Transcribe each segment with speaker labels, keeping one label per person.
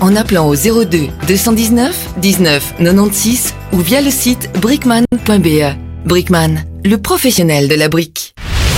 Speaker 1: en appelant au 02 219 19 96 ou via le site brickman.be. Brickman, le professionnel de la brique.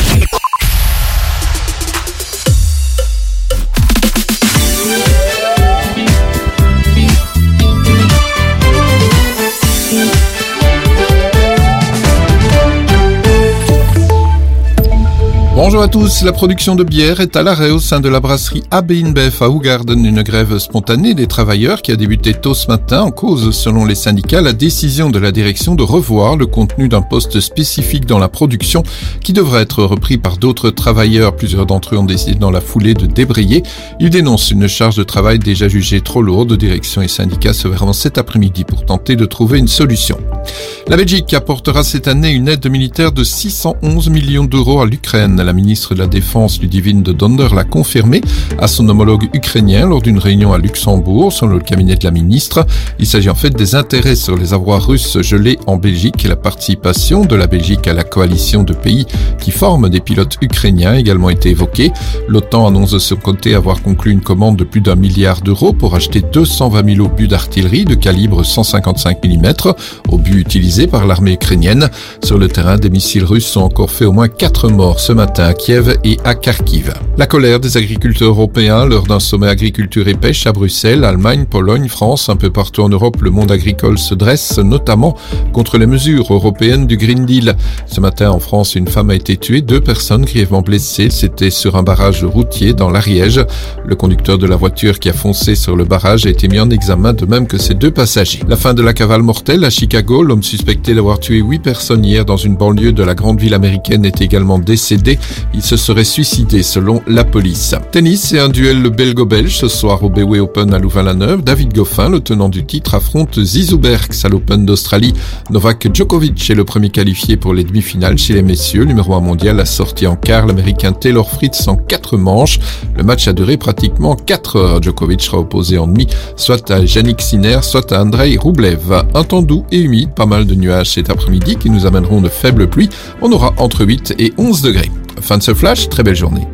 Speaker 2: Bonjour à tous, la production de bière est à l'arrêt au sein de la brasserie AB InBev à Hoegaarden. Une grève spontanée des travailleurs qui a débuté tôt ce matin en cause, selon les syndicats, la décision de la direction de revoir le contenu d'un poste spécifique dans la production qui devrait être repris par d'autres travailleurs. Plusieurs d'entre eux ont décidé dans la foulée de débrayer. Ils dénoncent une charge de travail déjà jugée trop lourde. Direction et syndicats se verront cet après-midi pour tenter de trouver une solution. La Belgique apportera cette année une aide militaire de 611 millions d'euros à l'Ukraine. La ministre de la Défense, Ludivine de Donder, l'a confirmé à son homologue ukrainien lors d'une réunion à Luxembourg, selon le cabinet de la ministre. Il s'agit en fait des intérêts sur les avoirs russes gelés en Belgique et la participation de la Belgique à la coalition de pays qui forment des pilotes ukrainiens a également été évoquée. L'OTAN annonce de son côté avoir conclu une commande de plus d'1 milliard d'euros pour acheter 220 000 obus d'artillerie de calibre 155 mm, obus utilisés par l'armée ukrainienne. Sur le terrain, des missiles russes ont encore fait au moins 4 morts ce matin à Kiev et à Kharkiv. La colère des agriculteurs européens lors d'un sommet agriculture et pêche à Bruxelles, Allemagne, Pologne, France, un peu partout en Europe, le monde agricole se dresse, notamment contre les mesures européennes du Green Deal. Ce matin, en France, une femme a été tuée, 2 personnes grièvement blessées. C'était sur un barrage routier dans l'Ariège. Le conducteur de la voiture qui a foncé sur le barrage a été mis en examen, de même que ses 2 passagers. La fin de la cavale mortelle à Chicago. L'homme suspecté d'avoir tué 8 personnes hier dans une banlieue de la grande ville américaine est également décédé. Il se serait suicidé selon la police. Tennis et un duel belgo-belge ce soir au BW Open à Louvain-la-Neuve. David Goffin, le tenant du titre, affronte Zizou Bergs à l'Open d'Australie. Novak Djokovic est le premier qualifié pour les demi-finales chez les messieurs. Numéro 1 mondial a sorti en quart l'américain Taylor Fritz en 4 manches. Le match a duré pratiquement 4 heures. Djokovic sera opposé en demi soit à Jannik Sinner, soit à Andrei Rublev. Un temps doux et humide, pas mal de nuages cet après-midi qui nous amèneront de faibles pluies. On aura entre 8 et 11 degrés. Fin de ce flash, très belle journée.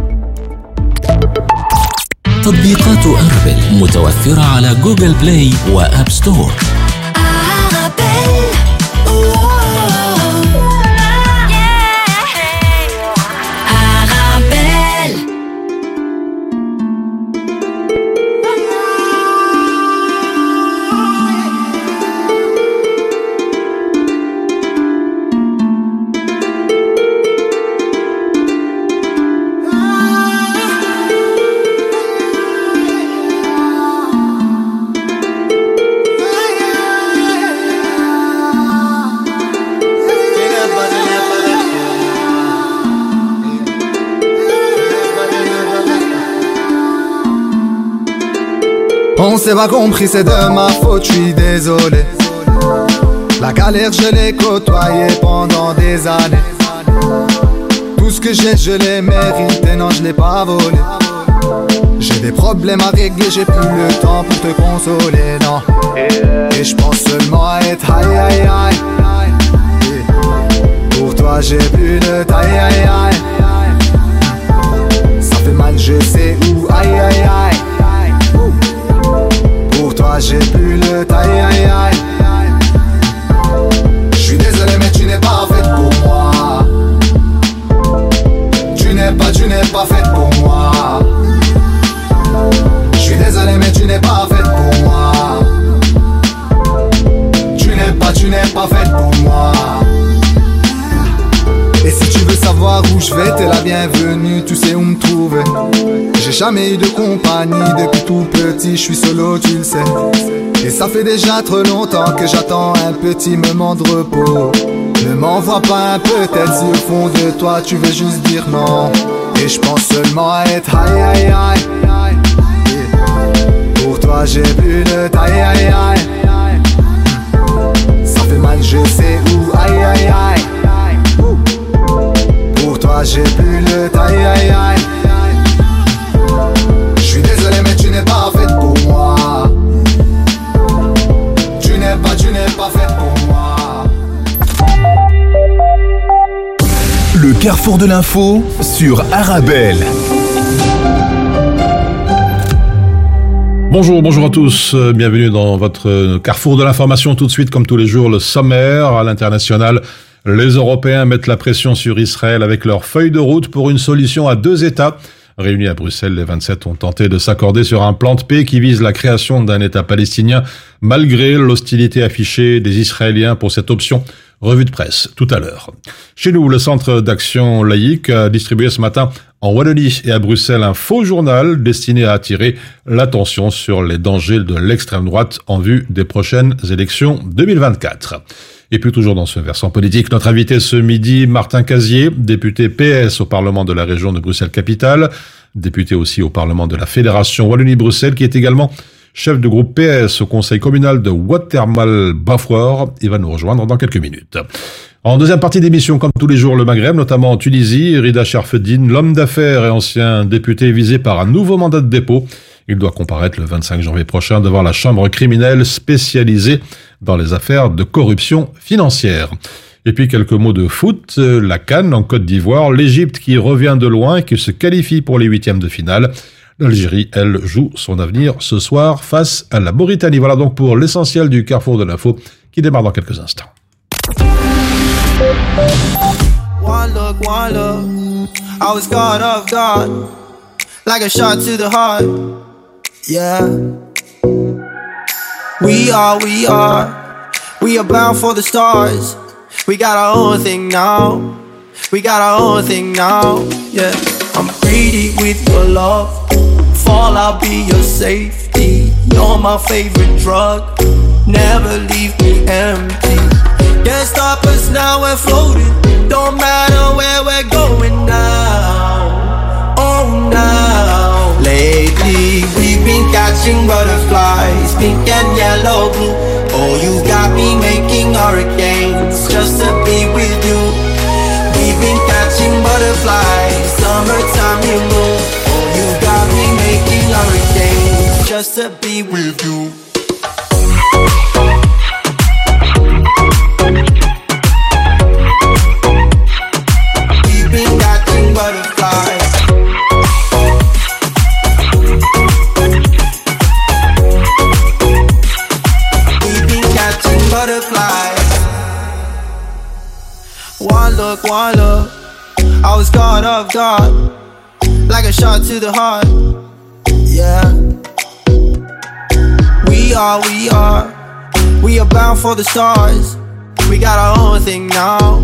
Speaker 3: تطبيقات أرابيل متوفرة على جوجل بلاي وآب ستور.
Speaker 4: On s'est pas compris, c'est de ma faute, je suis désolé. La galère, je l'ai côtoyée pendant des années. Tout ce que j'ai, je l'ai mérité, non, je l'ai pas volé. J'ai des problèmes à régler, j'ai plus le temps pour te consoler, non. Et je pense seulement à être aïe aïe aïe. Pour toi, j'ai plus de taille aïe aïe. Ça fait mal, je sais où, aïe aïe aïe. Pour toi j'ai plus le taille aïe aïe. J'suis désolé mais tu n'es pas faite pour moi. Tu n'es pas faite pour moi. J'suis désolé mais tu n'es pas faite pour moi. Tu n'es pas faite pour moi. Et si tu veux savoir où je vais, t'es la bienvenue, tu sais où me trouver. J'ai jamais eu de compagnie depuis tout petit, je suis solo, tu le sais. Et ça fait déjà trop longtemps que j'attends un petit moment de repos. Ne m'envoie pas un peut-être si au fond de toi tu veux juste dire non. Et je pense seulement à être aïe aïe aïe. Pour toi j'ai plus de taille aïe aïe. Ça fait mal, je sais où, aïe aïe aïe. Pour toi j'ai plus le taille aïe aïe. Je suis désolé mais tu n'es pas faite pour moi. Tu n'es pas faite pour moi.
Speaker 5: Le carrefour de l'info sur Arabelle.
Speaker 6: Bonjour à tous, bienvenue dans votre carrefour de l'information. Tout de suite, comme tous les jours, le sommaire à l'international. Les Européens mettent la pression sur Israël avec leur feuille de route pour une solution à 2 États. Réunis à Bruxelles, les 27 ont tenté de s'accorder sur un plan de paix qui vise la création d'un État palestinien, malgré l'hostilité affichée des Israéliens pour cette option. Revue de presse, tout à l'heure. Chez nous, le Centre d'action laïque a distribué ce matin en Wallonie et à Bruxelles un faux journal destiné à attirer l'attention sur les dangers de l'extrême droite en vue des prochaines élections 2024. Et puis toujours dans ce versant politique, notre invité ce midi, Martin Casier, député PS au Parlement de la région de Bruxelles-Capitale, député aussi au Parlement de la Fédération Wallonie-Bruxelles, qui est également chef de groupe PS au conseil communal de Watermal-Bafouar. Il va nous rejoindre dans quelques minutes. En deuxième partie d'émission, comme tous les jours, le Maghreb, notamment en Tunisie, Rida Sharfeddine, l'homme d'affaires et ancien député visé par un nouveau mandat de dépôt. Il doit comparaître le 25 janvier prochain devant la chambre criminelle spécialisée dans les affaires de corruption financière. Et puis quelques mots de foot, la CAN en Côte d'Ivoire, l'Égypte qui revient de loin et qui se qualifie pour les 8e de finale. L'Algérie, elle, joue son avenir ce soir face à la Mauritanie. Voilà donc pour l'essentiel du Carrefour de l'info qui démarre dans quelques instants.
Speaker 7: One look, I was caught off guard, like a shot to the heart, yeah. We are bound for the stars. We got our own thing now, yeah. I'm greedy with your love, fall I'll be your safety. You're my favorite drug, never leave me empty. Can't stop us now, we're floating. Don't matter where we're going now. Oh, now. Lately, we've been catching butterflies, pink and yellow, blue. Oh, you got me making hurricanes just to be with you. We've been catching butterflies, summertime, you know. Oh, you got me making hurricanes just to be with you. One look, I was caught off guard, like a shot to the heart, yeah. We are bound for the stars. We got our own thing now,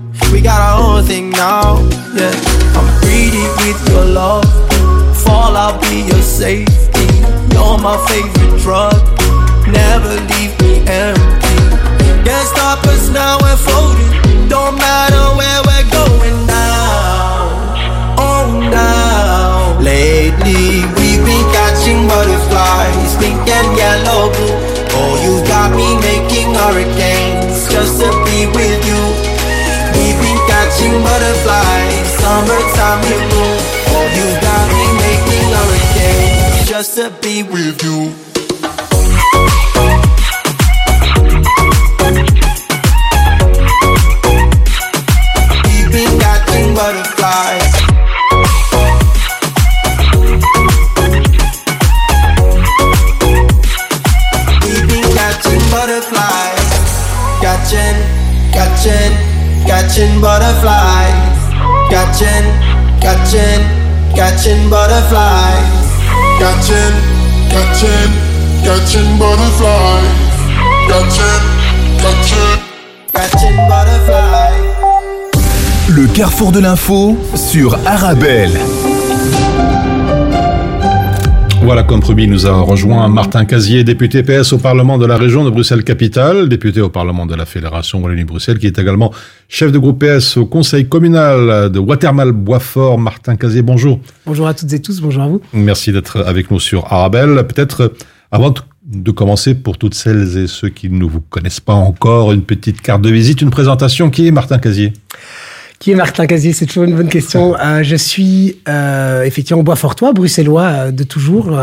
Speaker 7: yeah. I'm greedy with your love, fall I'll be your safety. You're my favorite drug, never leave me empty. Can't stop us now, we're floating. Don't matter where we're going now. Oh, now. Lately, we've been catching butterflies, pink and yellow, blue. Oh, you got me making hurricanes just to be with you. We've been catching butterflies, summertime, you know. Oh, you got me making hurricanes just to be with you. Butterflies. We've been catching butterflies, catching butterflies, catching butterflies, catching butterflies, catching butterflies.
Speaker 5: Le carrefour de l'info sur Arabelle.
Speaker 6: Voilà, comme promis, nous a rejoint Martin Casier, député PS au Parlement de la région de Bruxelles-Capitale, député au Parlement de la Fédération Wallonie-Bruxelles, qui est également chef de groupe PS au conseil communal de Watermal-Bafouar. Martin Casier, bonjour.
Speaker 8: Bonjour à toutes et tous, bonjour à vous.
Speaker 6: Merci d'être avec nous sur Arabelle. Peut-être, avant de commencer, pour toutes celles et ceux qui ne vous connaissent pas encore, une petite carte de visite, une présentation. Qui est Martin Casier ?
Speaker 8: Qui est Martin Casier? C'est toujours une bonne question. Je suis effectivement boisfortois, bruxellois de toujours.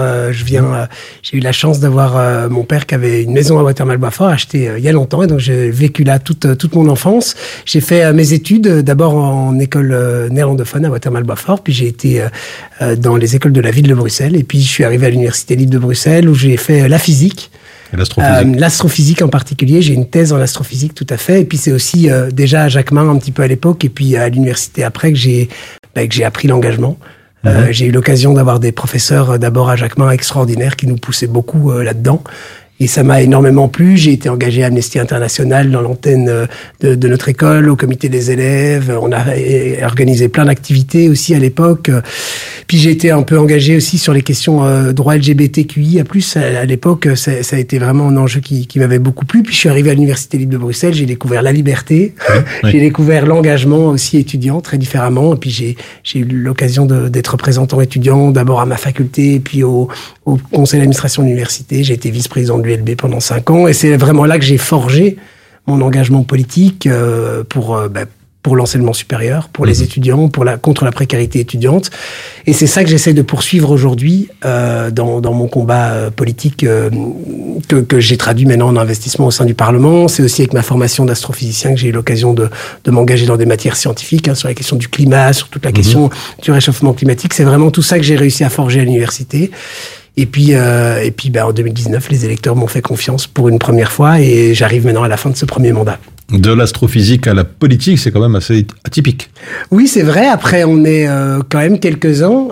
Speaker 8: J'ai eu la chance d'avoir mon père qui avait une maison à Watermal-Boisfort, achetée il y a longtemps, et donc j'ai vécu là toute mon enfance. J'ai fait mes études d'abord en école néerlandophone à Watermal-Boisfort, puis j'ai été dans les écoles de la ville de Bruxelles, et puis je suis arrivé à l'Université libre de Bruxelles où j'ai fait la physique.
Speaker 6: Et l'astrophysique.
Speaker 8: L'astrophysique en particulier, j'ai une thèse en astrophysique tout à fait, et puis c'est aussi déjà à Jacquemin un petit peu à l'époque, et puis à l'université après que j'ai appris l'engagement. J'ai eu l'occasion d'avoir des professeurs d'abord à Jacquemin extraordinaires qui nous poussaient beaucoup là-dedans. Et ça m'a énormément plu. J'ai été engagé à Amnesty International dans l'antenne de notre école, au comité des élèves. On a organisé plein d'activités aussi à l'époque. Puis j'ai été un peu engagé aussi sur les questions droits LGBTQI. À l'époque, ça a été vraiment un enjeu qui m'avait beaucoup plu. Puis je suis arrivé à l'Université libre de Bruxelles. J'ai découvert la liberté. Oui. J'ai découvert l'engagement aussi étudiant très différemment. Et puis j'ai eu l'occasion d'être représentant étudiant d'abord à ma faculté et puis au conseil d'administration de l'université. J'ai été vice-président de l'ULB pendant 5 ans, et c'est vraiment là que j'ai forgé mon engagement politique pour l'enseignement supérieur, pour les étudiants, contre la précarité étudiante. Et c'est ça que j'essaie de poursuivre aujourd'hui dans mon combat politique que j'ai traduit maintenant en investissement au sein du Parlement. C'est aussi avec ma formation d'astrophysicien que j'ai eu l'occasion de m'engager dans des matières scientifiques, sur la question du climat, sur toute la question du réchauffement climatique. C'est vraiment tout ça que j'ai réussi à forger à l'université. Et puis, en 2019, les électeurs m'ont fait confiance pour une première fois, et j'arrive maintenant à la fin de ce premier mandat.
Speaker 6: De l'astrophysique à la politique, c'est quand même assez atypique.
Speaker 8: Oui, c'est vrai. Après, on est quand même quelques-uns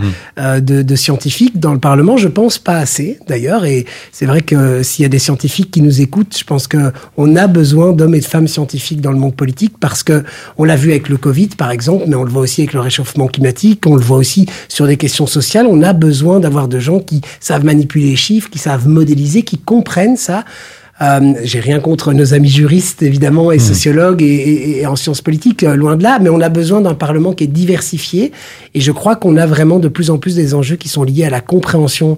Speaker 8: de scientifiques dans le Parlement. Je pense pas assez, d'ailleurs. Et c'est vrai que s'il y a des scientifiques qui nous écoutent, je pense qu'on a besoin d'hommes et de femmes scientifiques dans le monde politique, parce que on l'a vu avec le Covid, par exemple, mais on le voit aussi avec le réchauffement climatique, on le voit aussi sur des questions sociales. On a besoin d'avoir de gens qui savent manipuler les chiffres, qui savent modéliser, qui comprennent ça. J'ai rien contre nos amis juristes, évidemment, et sociologues et en sciences politiques, loin de là, mais on a besoin d'un Parlement qui est diversifié, et je crois qu'on a vraiment de plus en plus des enjeux qui sont liés à la compréhension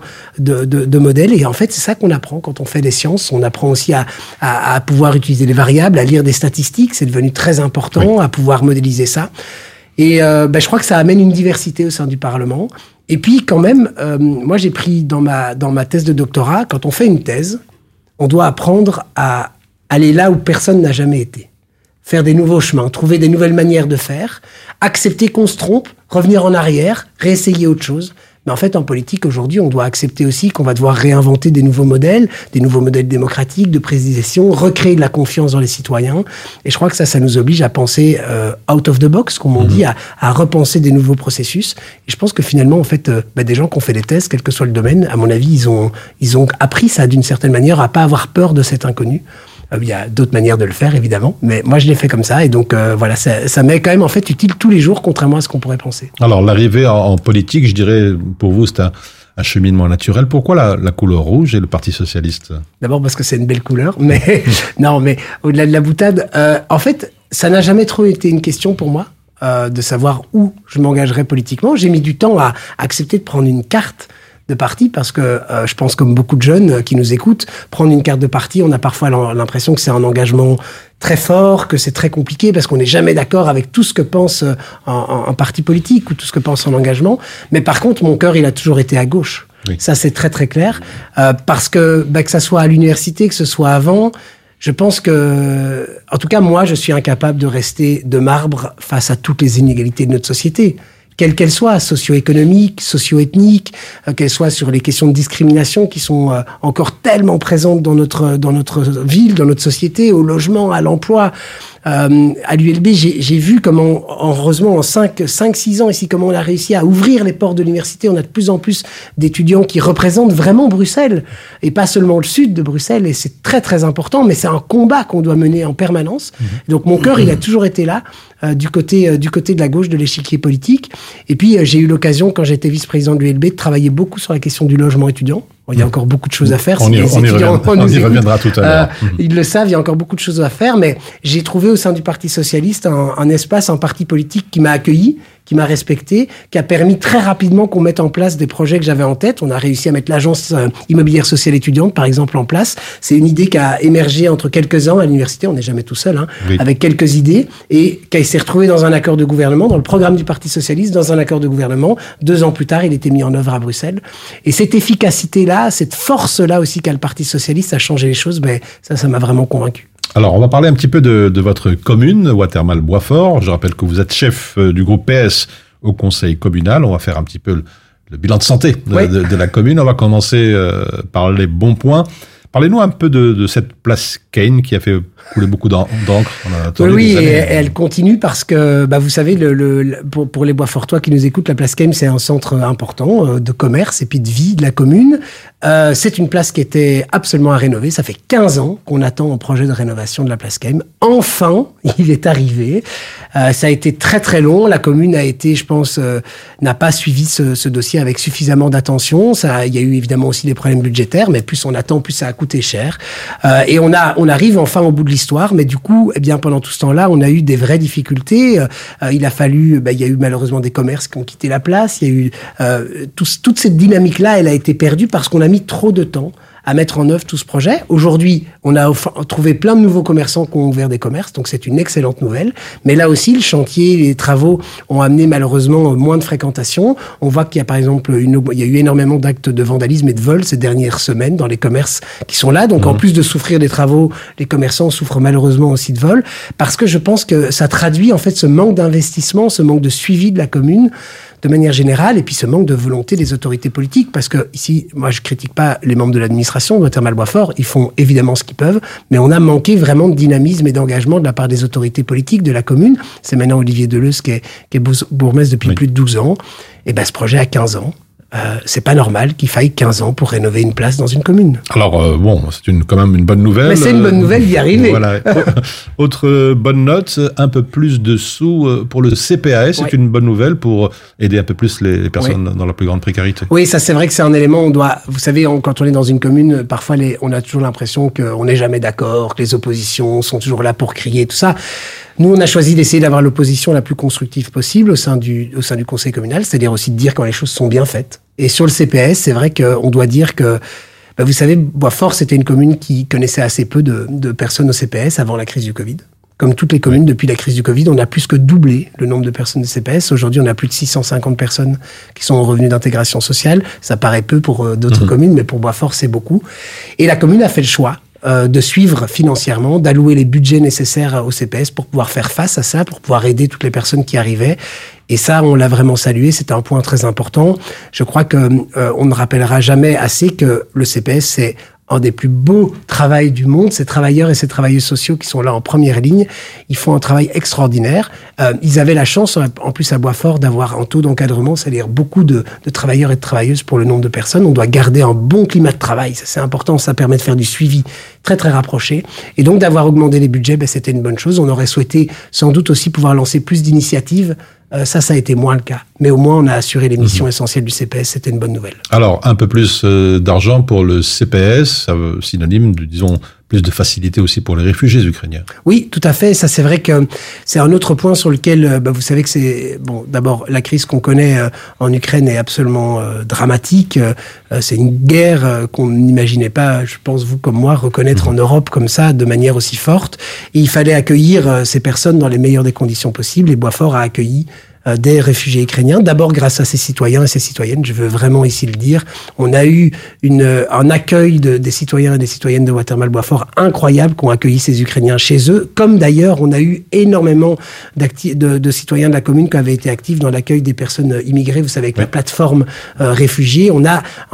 Speaker 8: de modèles, et en fait, c'est ça qu'on apprend quand on fait des sciences. On apprend aussi à pouvoir utiliser les variables, à lire des statistiques, c'est devenu très important, à pouvoir modéliser ça. Et je crois que ça amène une diversité au sein du Parlement. Et puis, quand même, moi, j'ai pris dans ma thèse de doctorat, quand on fait une thèse, on doit apprendre à aller là où personne n'a jamais été. Faire des nouveaux chemins, trouver des nouvelles manières de faire, accepter qu'on se trompe, revenir en arrière, réessayer autre chose. Mais en fait, en politique, aujourd'hui, on doit accepter aussi qu'on va devoir réinventer des nouveaux modèles démocratiques, de présidation, recréer de la confiance dans les citoyens. Et je crois que ça nous oblige à penser out of the box, comme on dit, à repenser des nouveaux processus. Et je pense que finalement, en fait, des gens qui ont fait des thèses, quel que soit le domaine, à mon avis, ils ont appris ça d'une certaine manière, à pas avoir peur de cet inconnu. Il y a d'autres manières de le faire, évidemment, mais moi, je l'ai fait comme ça. Et donc, voilà, ça m'est quand même, en fait, utile tous les jours, contrairement à ce qu'on pourrait penser.
Speaker 6: Alors, l'arrivée en politique, je dirais, pour vous, c'est un cheminement naturel. Pourquoi la couleur rouge et le Parti socialiste?
Speaker 8: D'abord parce que c'est une belle couleur, mais non, mais au-delà de la boutade, en fait, ça n'a jamais trop été une question pour moi de savoir où je m'engagerais politiquement. J'ai mis du temps à accepter de prendre une carte de parti, parce que je pense, comme beaucoup de jeunes qui nous écoutent, prendre une carte de parti, on a parfois l'impression que c'est un engagement très fort, que c'est très compliqué, parce qu'on n'est jamais d'accord avec tout ce que pense un parti politique ou tout ce que pense un engagement. Mais par contre, mon cœur, il a toujours été à gauche. Oui. Ça, c'est très très clair, parce que ça soit à l'université, que ce soit avant, je pense que, en tout cas, moi, je suis incapable de rester de marbre face à toutes les inégalités de notre société, quelles qu'elles soient, socio-économiques, socio-ethniques, qu'elles soient sur les questions de discrimination qui sont encore tellement présentes dans notre ville, dans notre société, au logement, à l'emploi. À l'ULB, j'ai vu comment, heureusement, en 5-6 ans ici, comment on a réussi à ouvrir les portes de l'université. On a de plus en plus d'étudiants qui représentent vraiment Bruxelles, et pas seulement le sud de Bruxelles, et c'est très très important, mais c'est un combat qu'on doit mener en permanence. Donc mon cœur, il a toujours été là, du côté de la gauche de l'échiquier politique. Et puis j'ai eu l'occasion, quand j'étais vice-président de l'ULB, de travailler beaucoup sur la question du logement étudiant. Il y a encore beaucoup de choses à faire.
Speaker 6: On y reviendra tout à l'heure.
Speaker 8: Ils le savent, il y a encore beaucoup de choses à faire, mais j'ai trouvé au sein du Parti socialiste un espace, un parti politique qui m'a accueilli, qui m'a respecté, qui a permis très rapidement qu'on mette en place des projets que j'avais en tête. On a réussi à mettre l'agence immobilière sociale étudiante, par exemple, en place. C'est une idée qui a émergé entre quelques-uns à l'université. On n'est jamais tout seul, avec quelques idées, et qui s'est retrouvée dans un accord de gouvernement, dans le programme du Parti socialiste, dans un accord de gouvernement. 2 ans plus tard, il était mis en œuvre à Bruxelles. Et cette efficacité-là, cette force-là aussi qu'a le Parti socialiste à changer les choses, ça m'a vraiment convaincu.
Speaker 6: Alors, on va parler un petit peu de votre commune, Watermal-Boisfort. Je rappelle que vous êtes chef du groupe PS au conseil communal. On va faire un petit peu le bilan de santé de la commune. On va commencer par les bons points. Parlez-nous un peu de cette place Kane qui a fait couler beaucoup d'encre.
Speaker 8: Oui, et elle continue parce que, vous savez, pour les Boisfortois qui nous écoutent, la place Kane, c'est un centre important de commerce et puis de vie de la commune. C'est une place qui était absolument à rénover. Ça fait 15 ans qu'on attend un projet de rénovation de la place Kane. Enfin, il est arrivé. Ça a été très très long. La commune a été, je pense, n'a pas suivi ce dossier avec suffisamment d'attention. Il y a eu évidemment aussi des problèmes budgétaires, mais plus on attend, plus ça a coûté cher. Et on arrive enfin au bout de l'histoire, mais du coup, pendant tout ce temps-là, on a eu des vraies difficultés. Il a fallu, il y a eu malheureusement des commerces qui ont quitté la place. Il y a eu toute cette dynamique-là, elle a été perdue parce qu'on a mis trop de temps à mettre en œuvre tout ce projet. Aujourd'hui, on a trouvé plein de nouveaux commerçants qui ont ouvert des commerces, donc c'est une excellente nouvelle. Mais là aussi, le chantier, les travaux ont amené malheureusement moins de fréquentation. On voit qu'il y a par exemple, il y a eu énormément d'actes de vandalisme et de vol ces dernières semaines dans les commerces qui sont là. Donc en plus de souffrir des travaux, les commerçants souffrent malheureusement aussi de vol, parce que je pense que ça traduit en fait ce manque d'investissement, ce manque de suivi de la commune de manière générale, et puis ce manque de volonté des autorités politiques, parce que ici, moi je critique pas les membres de l'administration de Watermal-Boisfort, ils font évidemment ce qu'ils peuvent, mais on a manqué vraiment de dynamisme et d'engagement de la part des autorités politiques de la commune. C'est maintenant Olivier Deleuze qui est bourgmestre depuis plus de 12 ans, et ce projet a 15 ans. C'est pas normal qu'il faille 15 ans pour rénover une place dans une commune.
Speaker 6: Alors, c'est quand même une bonne nouvelle.
Speaker 8: Mais c'est une bonne nouvelle d'y arriver.
Speaker 6: Voilà. Autre bonne note, un peu plus de sous pour le CPAS. C'est une bonne nouvelle pour aider un peu plus les personnes dans la plus grande précarité. Oui,
Speaker 8: ça c'est vrai que c'est un élément, vous savez, quand on est dans une commune, parfois on a toujours l'impression qu'on n'est jamais d'accord, que les oppositions sont toujours là pour crier, tout ça. Nous, on a choisi d'essayer d'avoir l'opposition la plus constructive possible au sein du conseil communal, c'est-à-dire aussi de dire quand les choses sont bien faites. Et sur le CPS, c'est vrai qu'on doit dire que, vous savez, Boisfort, c'était une commune qui connaissait assez peu de personnes au CPS avant la crise du Covid. Comme toutes les communes, depuis la crise du Covid, on a plus que doublé le nombre de personnes de CPS. Aujourd'hui, on a plus de 650 personnes qui sont en revenu d'intégration sociale. Ça paraît peu pour d'autres communes, mais pour Boisfort, c'est beaucoup. Et la commune a fait le choix de suivre financièrement, d'allouer les budgets nécessaires au CPS pour pouvoir faire face à ça, pour pouvoir aider toutes les personnes qui arrivaient. Et ça, on l'a vraiment salué, c'était un point très important. Je crois que on ne rappellera jamais assez que le CPS, c'est un des plus beaux travails du monde. Ces travailleurs et ces travailleuses sociaux qui sont là en première ligne, ils font un travail extraordinaire. Ils avaient la chance, en plus à Boisfort, d'avoir un taux d'encadrement, c'est-à-dire beaucoup de travailleurs et de travailleuses pour le nombre de personnes. On doit garder un bon climat de travail, ça c'est important, ça permet de faire du suivi très très rapproché. Et donc d'avoir augmenté les budgets, c'était une bonne chose. On aurait souhaité sans doute aussi pouvoir lancer plus d'initiatives. Ça a été moins le cas. Mais au moins, on a assuré les missions essentielles du CPS. C'était une bonne nouvelle.
Speaker 6: Alors, un peu plus d'argent pour le CPS, synonyme de, disons, plus de facilité aussi pour les réfugiés ukrainiens.
Speaker 8: Oui, tout à fait. Ça, c'est vrai que c'est un autre point sur lequel, vous savez que c'est... Bon, d'abord, la crise qu'on connaît en Ukraine est absolument dramatique. C'est une guerre qu'on n'imaginait pas, je pense, vous comme moi, reconnaître en Europe comme ça, de manière aussi forte. Et il fallait accueillir ces personnes dans les meilleures des conditions possibles. Et Boisfort a accueilli des réfugiés ukrainiens, d'abord grâce à ces citoyens et ces citoyennes, je veux vraiment ici le dire. On a eu un accueil des citoyens et des citoyennes de Watermal-Boisfort incroyable qui ont accueilli ces Ukrainiens chez eux, comme d'ailleurs on a eu énormément de citoyens de la commune qui avaient été actifs dans l'accueil des personnes immigrées, vous savez, avec la plateforme réfugiés. On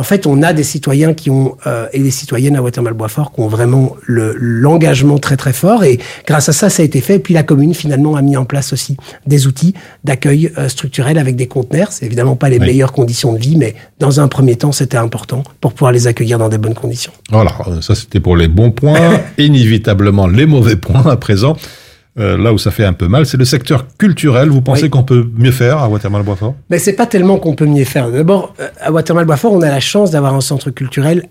Speaker 8: a des citoyens qui ont et des citoyennes à Watermal-Boisfort qui ont vraiment l'engagement très très fort, et grâce à ça a été fait. Et puis la commune finalement a mis en place aussi des outils d'accueil structurel avec des conteneurs. C'est évidemment pas les meilleures conditions de vie, mais dans un premier temps, c'était important pour pouvoir les accueillir dans des bonnes conditions.
Speaker 6: Voilà, ça c'était pour les bons points. Inévitablement, les mauvais points à présent. Là où ça fait un peu mal, c'est le secteur culturel. Vous pensez qu'on peut mieux faire à Watermal-Boisfort ?
Speaker 8: Mais c'est pas tellement qu'on peut mieux faire. D'abord, à Watermal-Boisfort, on a la chance d'avoir un centre culturel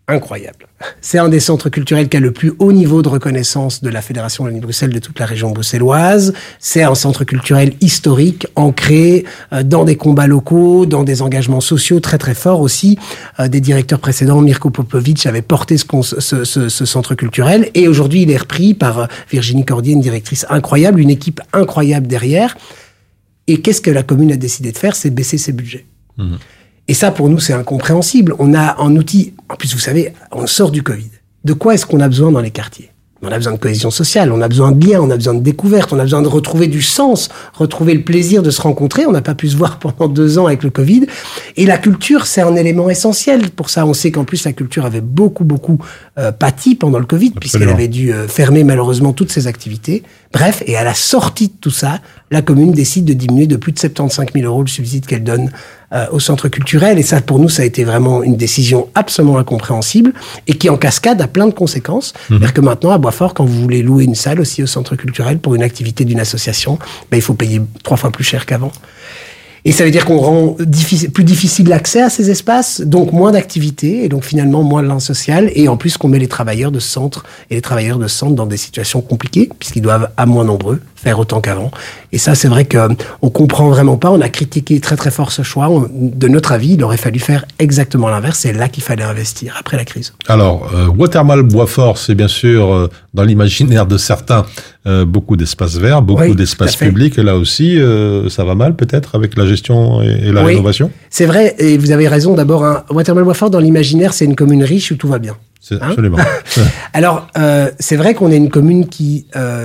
Speaker 8: incroyable. C'est un des centres culturels qui a le plus haut niveau de reconnaissance de la Fédération Wallonie-Bruxelles de toute la région bruxelloise. C'est un centre culturel historique, ancré dans des combats locaux, dans des engagements sociaux très très forts aussi. Des directeurs précédents, Mirko Popovic, avait porté ce centre culturel. Et aujourd'hui, il est repris par Virginie Cordier, une directrice incroyable, une équipe incroyable derrière. Et qu'est-ce que la commune a décidé de faire? C'est baisser ses budgets. Mmh. Et ça, pour nous, c'est incompréhensible. On a un outil... En plus, vous savez, on sort du Covid. De quoi est-ce qu'on a besoin dans les quartiers? On a besoin de cohésion sociale, on a besoin de liens, on a besoin de découverte, on a besoin de retrouver du sens, retrouver le plaisir de se rencontrer. On n'a pas pu se voir pendant 2 ans avec le Covid. Et la culture, c'est un élément essentiel. Pour ça, on sait qu'en plus, la culture avait beaucoup pâti pendant le Covid, puisqu'elle avait dû fermer malheureusement toutes ses activités. Bref, et à la sortie de tout ça, la commune décide de diminuer de plus de 75 000 € le subside qu'elle donne au centre culturel. Et ça, pour nous, ça a été vraiment une décision absolument incompréhensible et qui, en cascade, a plein de conséquences. C'est-à-dire que maintenant, à Boisfort, quand vous voulez louer une salle aussi au centre culturel pour une activité d'une association, il faut payer 3 fois plus cher qu'avant. Et ça veut dire qu'on rend plus difficile l'accès à ces espaces, donc moins d'activités, et donc finalement moins de lien social, et en plus qu'on met les travailleurs de centre et les travailleurs de centre dans des situations compliquées, puisqu'ils doivent, à moins nombreux, faire autant qu'avant. Et ça, c'est vrai qu'on comprend vraiment pas. On a critiqué très très fort ce choix. De notre avis, il aurait fallu faire exactement l'inverse. C'est là qu'il fallait investir après la crise.
Speaker 6: Alors, Watermal Boisfort, c'est bien sûr dans l'imaginaire de certains beaucoup d'espaces verts, beaucoup d'espaces publics. Et là aussi, ça va mal peut-être avec la gestion et la rénovation.
Speaker 8: C'est vrai. Et vous avez raison. D'abord, Watermal Boisfort dans l'imaginaire, c'est une commune riche où tout va bien.
Speaker 6: Absolument.
Speaker 8: Alors, c'est vrai qu'on est une commune qui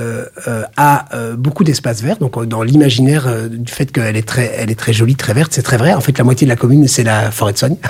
Speaker 8: a beaucoup d'espaces verts. Donc, dans l'imaginaire du fait qu'elle est très jolie, très verte, c'est très vrai. En fait, la moitié de la commune, c'est la forêt de Sogne.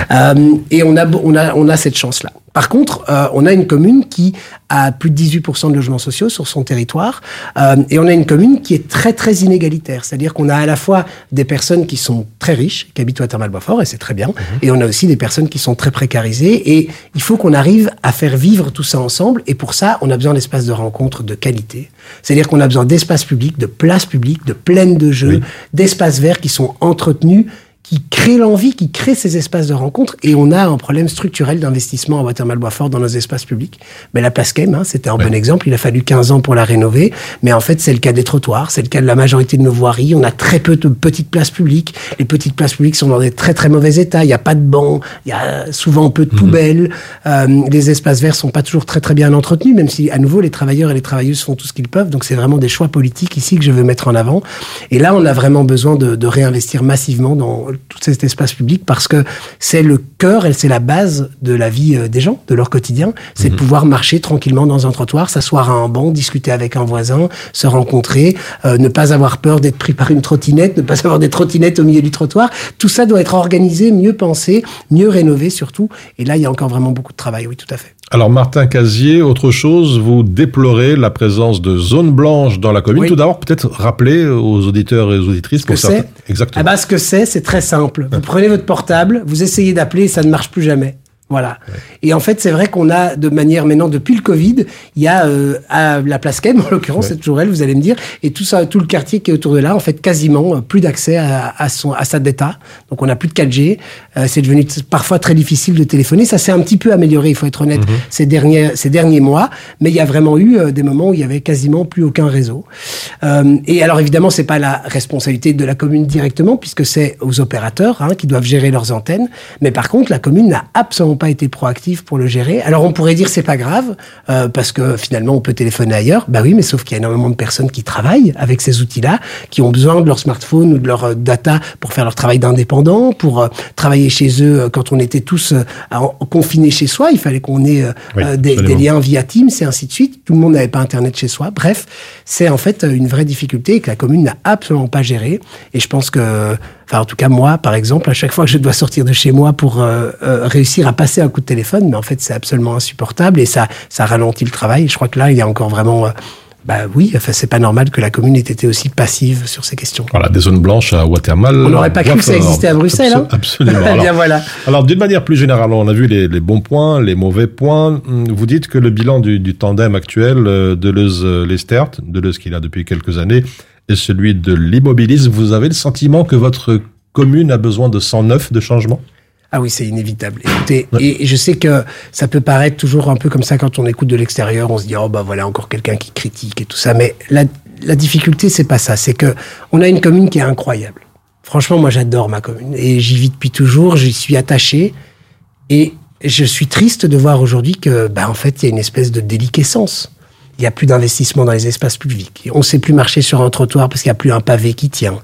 Speaker 8: Et on a cette chance-là. Par contre, on a une commune qui a plus de 18% de logements sociaux sur son territoire, et on a une commune qui est très très inégalitaire. C'est-à-dire qu'on a à la fois des personnes qui sont très riches, qui habitent Watermal Boisfort, et c'est très bien, et on a aussi des personnes qui sont très précarisées, et il faut qu'on arrive à faire vivre tout ça ensemble, et pour ça, on a besoin d'espaces de rencontre de qualité. C'est-à-dire qu'on a besoin d'espaces publics, de places publiques, de plaines de jeux, d'espaces verts qui sont entretenus, qui crée l'envie, qui crée ces espaces de rencontre. Et on a un problème structurel d'investissement à Watermal Boisfort dans nos espaces publics. Mais la place Kem, c'était un bon exemple. Il a fallu 15 ans pour la rénover. Mais en fait, c'est le cas des trottoirs, c'est le cas de la majorité de nos voiries. On a très peu de petites places publiques. Les petites places publiques sont dans des très très mauvais états. Il n'y a pas de bancs, il y a souvent peu de poubelles. Les espaces verts sont pas toujours très très bien entretenus, même si à nouveau les travailleurs et les travailleuses font tout ce qu'ils peuvent. Donc c'est vraiment des choix politiques ici que je veux mettre en avant. Et là, on a vraiment besoin de réinvestir massivement dans tout cet espace public, parce que c'est le cœur et c'est la base de la vie des gens, de leur quotidien. C'est de pouvoir marcher tranquillement dans un trottoir, s'asseoir à un banc, discuter avec un voisin, se rencontrer, ne pas avoir peur d'être pris par une trottinette, ne pas avoir des trottinettes au milieu du trottoir. Tout ça doit être organisé, mieux pensé, mieux rénové surtout. Et là, il y a encore vraiment beaucoup de travail, oui, tout à fait.
Speaker 6: Alors, Martin Casier, autre chose, vous déplorez la présence de zones blanches dans la commune. Tout d'abord, peut-être rappeler aux auditeurs et aux auditrices pour certains. Exactement.
Speaker 8: Ce que c'est très simple. Vous prenez votre portable, vous essayez d'appeler et ça ne marche plus jamais. Voilà. Ouais. Et en fait, c'est vrai qu'on a de manière maintenant, depuis le Covid, il y a à la place Kem, en l'occurrence, c'est toujours elle, vous allez me dire, et tout ça, tout le quartier qui est autour de là, en fait, quasiment plus d'accès à sa data. Donc, on n'a plus de 4G. C'est devenu parfois très difficile de téléphoner. Ça s'est un petit peu amélioré, il faut être honnête, ces derniers mois. Mais il y a vraiment eu des moments où il y avait quasiment plus aucun réseau. Et alors, évidemment, c'est pas la responsabilité de la commune directement, puisque c'est aux opérateurs qui doivent gérer leurs antennes. Mais par contre, la commune n'a absolument pas été proactive pour le gérer. Alors on pourrait dire c'est pas grave parce que finalement on peut téléphoner ailleurs. Bah oui, mais sauf qu'il y a énormément de personnes qui travaillent avec ces outils-là, qui ont besoin de leur smartphone ou de leur data pour faire leur travail d'indépendant, pour travailler chez eux. Quand on était tous confinés chez soi, il fallait qu'on ait des liens via Teams et ainsi de suite. Tout le monde n'avait pas Internet chez soi. Bref, c'est en fait une vraie difficulté et que la commune n'a absolument pas géré. Et je pense que, en tout cas moi, par exemple, à chaque fois que je dois sortir de chez moi pour réussir à passer un coup de téléphone, mais en fait c'est absolument insupportable et ça ralentit le travail. Et je crois que là il y a encore vraiment c'est pas normal que la commune ait été aussi passive sur ces questions.
Speaker 6: Voilà, des zones blanches à Watermal.
Speaker 8: On n'aurait pas cru que ça existait à Bruxelles.
Speaker 6: Absolument. Alors, d'une manière plus générale, on a vu les bons points, les mauvais points. Vous dites que le bilan du tandem actuel Deleuze-Lestert, Deleuze qui est là depuis quelques années, et celui de l'immobilisme, vous avez le sentiment que votre commune a besoin de 109 de changement ?
Speaker 8: Ah oui, c'est inévitable. Écoutez, et je sais que ça peut paraître toujours un peu comme ça quand on écoute de l'extérieur, on se dit oh bah voilà encore quelqu'un qui critique et tout ça, mais la difficulté c'est pas ça, c'est que on a une commune qui est incroyable. Franchement, moi j'adore ma commune et j'y vis depuis toujours, j'y suis attaché et je suis triste de voir aujourd'hui que en fait il y a une espèce de déliquescence. Il y a plus d'investissement dans les espaces publics. On sait plus marcher sur un trottoir parce qu'il y a plus un pavé qui tient.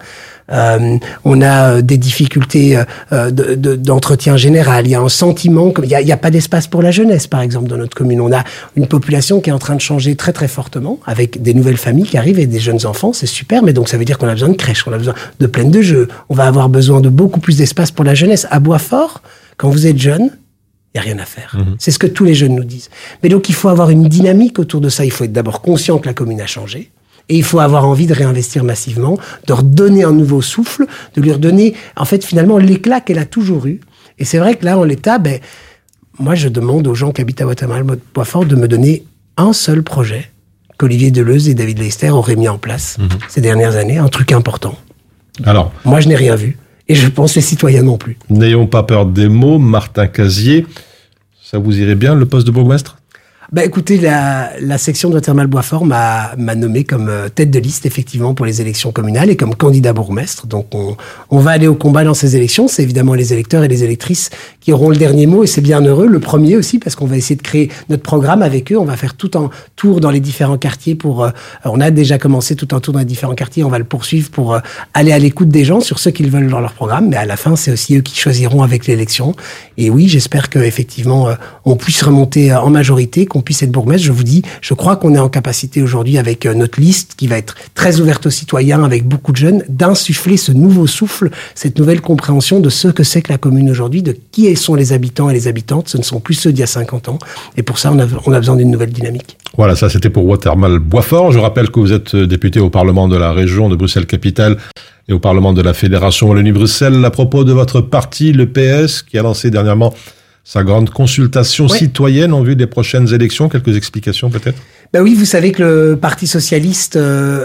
Speaker 8: On a des difficultés d'entretien général. Il y a un sentiment il y a pas d'espace pour la jeunesse, par exemple, dans notre commune. On a une population qui est en train de changer très très fortement, avec des nouvelles familles qui arrivent et des jeunes enfants. C'est super, mais donc ça veut dire qu'on a besoin de crèches, on a besoin de plaines de jeux. On va avoir besoin de beaucoup plus d'espace pour la jeunesse. À Boitsfort, quand vous êtes jeune, il n'y a rien à faire. C'est ce que tous les jeunes nous disent. Mais donc, il faut avoir une dynamique autour de ça. Il faut être d'abord conscient que la commune a changé. Et il faut avoir envie de réinvestir massivement, de redonner un nouveau souffle, de lui redonner, en fait, finalement, l'éclat qu'elle a toujours eu. Et c'est vrai que là, en l'état, moi, je demande aux gens qui habitent à Watermal-Boitsfort de me donner un seul projet qu'Olivier Deleuze et David Leister auraient mis en place ces dernières années, un truc important. Alors, moi, je n'ai rien vu. Et je pense les citoyens non plus.
Speaker 6: N'ayons pas peur des mots. Martin Casier, ça vous irait bien, le poste de bourgmestre ?
Speaker 8: Écoutez, la section de Watermal-Boitsfort m'a nommé comme tête de liste, effectivement, pour les élections communales et comme candidat bourgmestre. Donc, on va aller au combat dans ces élections. C'est évidemment les électeurs et les électrices qui auront le dernier mot et c'est bien heureux. Le premier aussi, parce qu'on va essayer de créer notre programme avec eux. On va faire tout un tour dans les différents quartiers on a déjà commencé tout un tour dans les différents quartiers. On va le poursuivre pour aller à l'écoute des gens sur ce qu'ils veulent dans leur programme. Mais à la fin, c'est aussi eux qui choisiront avec l'élection. Et oui, j'espère qu'effectivement, on puisse remonter en majorité, qu'on puisse être bourgmestre. Je vous dis, je crois qu'on est en capacité aujourd'hui avec notre liste qui va être très ouverte aux citoyens, avec beaucoup de jeunes, d'insuffler ce nouveau souffle, cette nouvelle compréhension de ce que c'est que la commune aujourd'hui, de qui sont les habitants et les habitantes. Ce ne sont plus ceux d'il y a 50 ans. Et pour ça, on a besoin d'une nouvelle dynamique.
Speaker 6: Voilà, ça c'était pour Watermal-Boitsfort. Je rappelle que vous êtes député au Parlement de la région de Bruxelles-Capitale et au Parlement de la Fédération Wallonie-Bruxelles. À propos de votre parti, le PS, qui a lancé dernièrement sa grande consultation citoyenne en vue des prochaines élections. Quelques explications peut-être ?
Speaker 8: Oui, vous savez que le Parti socialiste,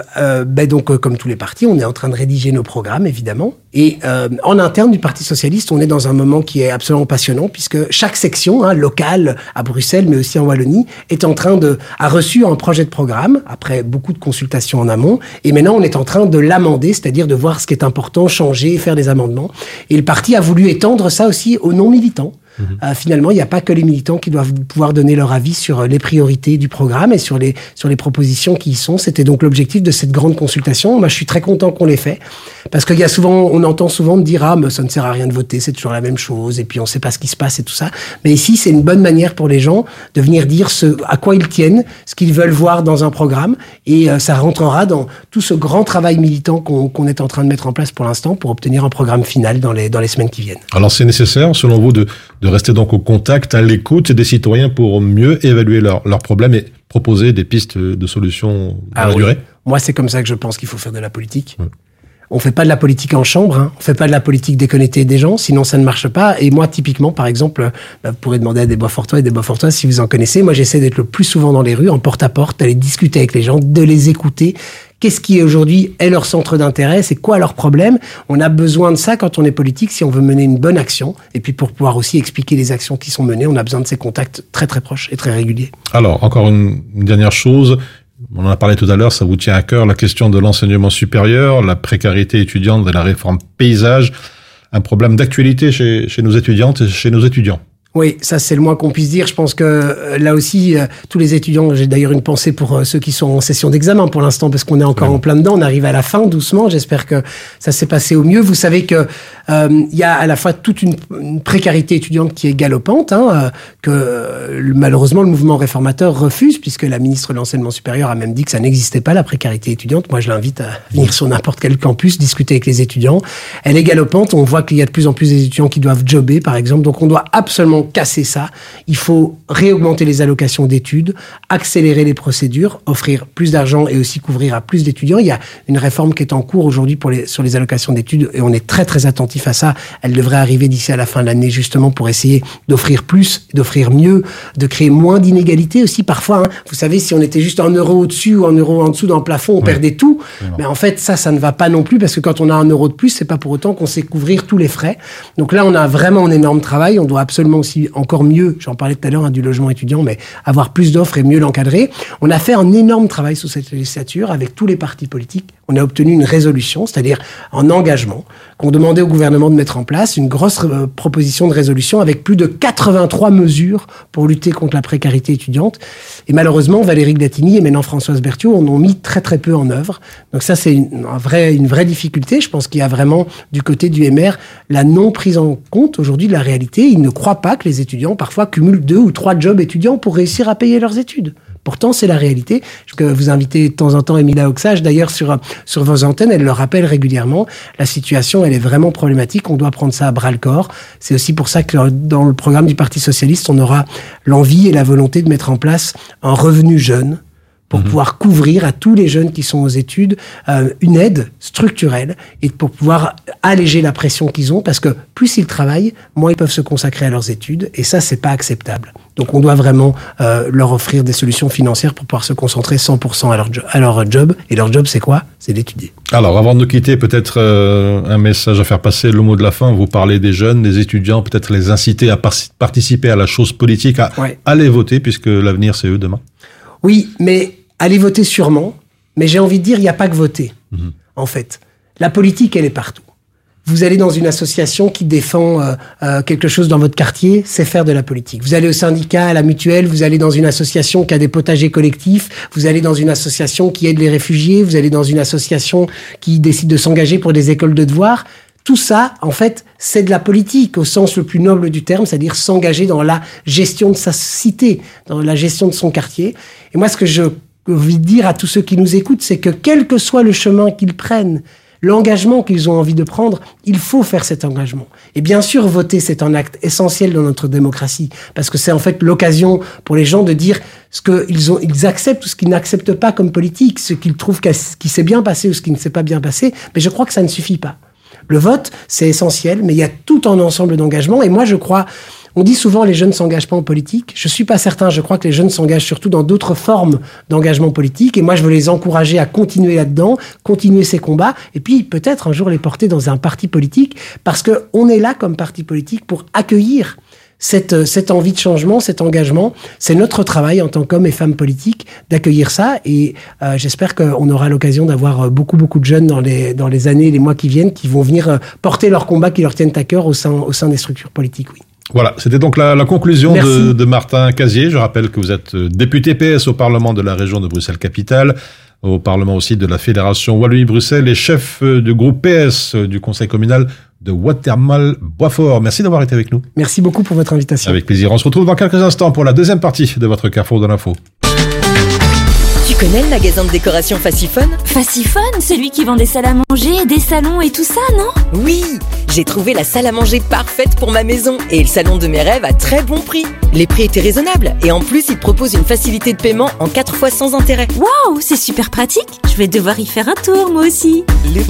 Speaker 8: donc comme tous les partis, on est en train de rédiger nos programmes, évidemment. Et en interne du Parti socialiste, on est dans un moment qui est absolument passionnant, puisque chaque section locale à Bruxelles, mais aussi en Wallonie, a reçu un projet de programme, après beaucoup de consultations en amont. Et maintenant, on est en train de l'amender, c'est-à-dire de voir ce qui est important, changer, faire des amendements. Et le parti a voulu étendre ça aussi aux non-militants. Finalement, il n'y a pas que les militants qui doivent pouvoir donner leur avis sur les priorités du programme et sur les propositions qui y sont. C'était donc l'objectif de cette grande consultation. Moi, je suis très content qu'on l'ait fait parce qu'il y a souvent, on entend souvent me dire mais ça ne sert à rien de voter, c'est toujours la même chose et puis on ne sait pas ce qui se passe et tout ça. Mais ici, c'est une bonne manière pour les gens de venir dire à quoi ils tiennent, ce qu'ils veulent voir dans un programme et ça rentrera dans tout ce grand travail militant qu'on est en train de mettre en place pour l'instant pour obtenir un programme final dans les semaines qui viennent.
Speaker 6: Alors, c'est nécessaire, selon vous, de rester donc au contact, à l'écoute des citoyens pour mieux évaluer leurs problèmes et proposer des pistes de solutions dans la durée.
Speaker 8: Moi, c'est comme ça que je pense qu'il faut faire de la politique. On fait pas de la politique en chambre, on fait pas de la politique déconnectée des gens, sinon ça ne marche pas. Et moi, typiquement, par exemple, vous pourrez demander à des Boisfortois et des Boisfortoises si vous en connaissez. Moi, j'essaie d'être le plus souvent dans les rues, en porte-à-porte, d'aller discuter avec les gens, de les écouter. Qu'est-ce qui aujourd'hui est leur centre d'intérêt? C'est quoi leur problème? On a besoin de ça quand on est politique, si on veut mener une bonne action. Et puis pour pouvoir aussi expliquer les actions qui sont menées, on a besoin de ces contacts très très proches et très réguliers.
Speaker 6: Alors, encore une dernière chose. On en a parlé tout à l'heure, ça vous tient à cœur, la question de l'enseignement supérieur, la précarité étudiante et la réforme paysage. Un problème d'actualité chez nos étudiantes et chez nos étudiants.
Speaker 8: Oui, ça c'est le moins qu'on puisse dire. Je pense que là aussi, tous les étudiants, j'ai d'ailleurs une pensée pour ceux qui sont en session d'examen pour l'instant, parce qu'on est encore en plein dedans. On arrive à la fin doucement. J'espère que ça s'est passé au mieux. Vous savez que il y a à la fois toute une précarité étudiante qui est galopante, que malheureusement le mouvement réformateur refuse, puisque la ministre de l'Enseignement supérieur a même dit que ça n'existait pas, la précarité étudiante. Moi, je l'invite à venir sur n'importe quel campus, discuter avec les étudiants. Elle est galopante. On voit qu'il y a de plus en plus d'étudiants qui doivent jobber, par exemple. Donc, on doit absolument vraiment casser ça. Il faut réaugmenter les allocations d'études, accélérer les procédures, offrir plus d'argent et aussi couvrir à plus d'étudiants. Il y a une réforme qui est en cours aujourd'hui sur les allocations d'études et on est très très attentif à ça. Elle devrait arriver d'ici à la fin de l'année justement pour essayer d'offrir plus, d'offrir mieux, de créer moins d'inégalités aussi parfois. Vous savez, si on était juste 1 euro au-dessus ou 1 euro en dessous dans le plafond, on perdait tout. Mais en fait, ça ne va pas non plus parce que quand on a 1 euro de plus, c'est pas pour autant qu'on sait couvrir tous les frais. Donc là, on a vraiment un énorme travail. On doit absolument aussi encore mieux, j'en parlais tout à l'heure du logement étudiant, mais avoir plus d'offres et mieux l'encadrer. On a fait un énorme travail sous cette législature avec tous les partis politiques. On a obtenu une résolution, c'est-à-dire un engagement qu'on demandait au gouvernement de mettre en place, une grosse proposition de résolution avec plus de 83 mesures pour lutter contre la précarité étudiante. Et malheureusement, Valérie Glatini et maintenant Françoise Berthiaud en ont mis très très peu en œuvre. Donc ça, c'est une vraie difficulté. Je pense qu'il y a vraiment du côté du MR la non prise en compte aujourd'hui de la réalité. Ils ne croient pas que les étudiants parfois cumulent 2 ou 3 jobs étudiants pour réussir à payer leurs études. Pourtant, c'est la réalité. Je vous invitez de temps en temps Emilia Oxage, d'ailleurs, sur vos antennes, elle le rappelle régulièrement. La situation, elle est vraiment problématique. On doit prendre ça à bras-le-corps. C'est aussi pour ça que dans le programme du Parti socialiste, on aura l'envie et la volonté de mettre en place un revenu jeune pour pouvoir couvrir à tous les jeunes qui sont aux études une aide structurelle et pour pouvoir alléger la pression qu'ils ont parce que plus ils travaillent, moins ils peuvent se consacrer à leurs études et ça, c'est pas acceptable. Donc on doit vraiment leur offrir des solutions financières pour pouvoir se concentrer 100% à leur job. Et leur job, c'est quoi? C'est d'étudier. Alors, avant de nous quitter, peut-être un message à faire passer, le mot de la fin. Vous parlez des jeunes, des étudiants, peut-être les inciter à participer à la chose politique, à aller voter puisque l'avenir, c'est eux demain. Oui, mais allez voter sûrement, mais j'ai envie de dire, il n'y a pas que voter, en fait. La politique, elle est partout. Vous allez dans une association qui défend quelque chose dans votre quartier, c'est faire de la politique. Vous allez au syndicat, à la mutuelle, vous allez dans une association qui a des potagers collectifs, vous allez dans une association qui aide les réfugiés, vous allez dans une association qui décide de s'engager pour des écoles de devoirs. Tout ça, en fait, c'est de la politique au sens le plus noble du terme, c'est-à-dire s'engager dans la gestion de sa cité, dans la gestion de son quartier. Et moi, ce que je envie de dire à tous ceux qui nous écoutent, c'est que quel que soit le chemin qu'ils prennent, l'engagement qu'ils ont envie de prendre, il faut faire cet engagement. Et bien sûr, voter, c'est un acte essentiel dans notre démocratie, parce que c'est en fait l'occasion pour les gens de dire ce qu'ils acceptent ou ce qu'ils n'acceptent pas comme politique, ce qu'ils trouvent qui s'est bien passé ou ce qui ne s'est pas bien passé, mais je crois que ça ne suffit pas. Le vote, c'est essentiel, mais il y a tout un ensemble d'engagements, et moi je crois... On dit souvent les jeunes ne s'engagent pas en politique. Je ne suis pas certain. Je crois que les jeunes s'engagent surtout dans d'autres formes d'engagement politique. Et moi, je veux les encourager à continuer là-dedans, continuer ces combats, et puis peut-être un jour les porter dans un parti politique, parce qu'on est là comme parti politique pour accueillir cette envie de changement, cet engagement. C'est notre travail en tant qu'hommes et femmes politiques d'accueillir ça. Et j'espère qu'on aura l'occasion d'avoir beaucoup de jeunes dans les années et les mois qui viennent qui vont venir porter leurs combats qui leur tiennent à cœur au sein des structures politiques, oui. Voilà, c'était donc la conclusion de Martin Casier. Je rappelle que vous êtes député PS au Parlement de la région de Bruxelles-Capitale, au Parlement aussi de la Fédération Wallonie-Bruxelles et chef du groupe PS du Conseil communal de Watermal-Boisfort. Merci d'avoir été avec nous. Merci beaucoup pour votre invitation. Avec plaisir. On se retrouve dans quelques instants pour la deuxième partie de votre Carrefour de l'info.
Speaker 9: Tu connais le magasin de décoration Fassifone ? Fassifone, celui qui vend des salles à manger, des salons et tout ça, non ? Oui, j'ai trouvé la salle à manger parfaite pour ma maison et le salon de mes rêves à très bon prix. Les prix étaient raisonnables et en plus, ils te proposent une facilité de paiement en 4 fois sans intérêt. Waouh, c'est super pratique. Je vais devoir y faire un tour, moi aussi.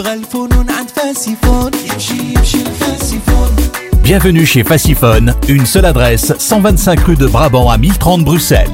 Speaker 3: Bienvenue chez Fassifone, une seule adresse, 125 rue de Brabant à 1030 Bruxelles.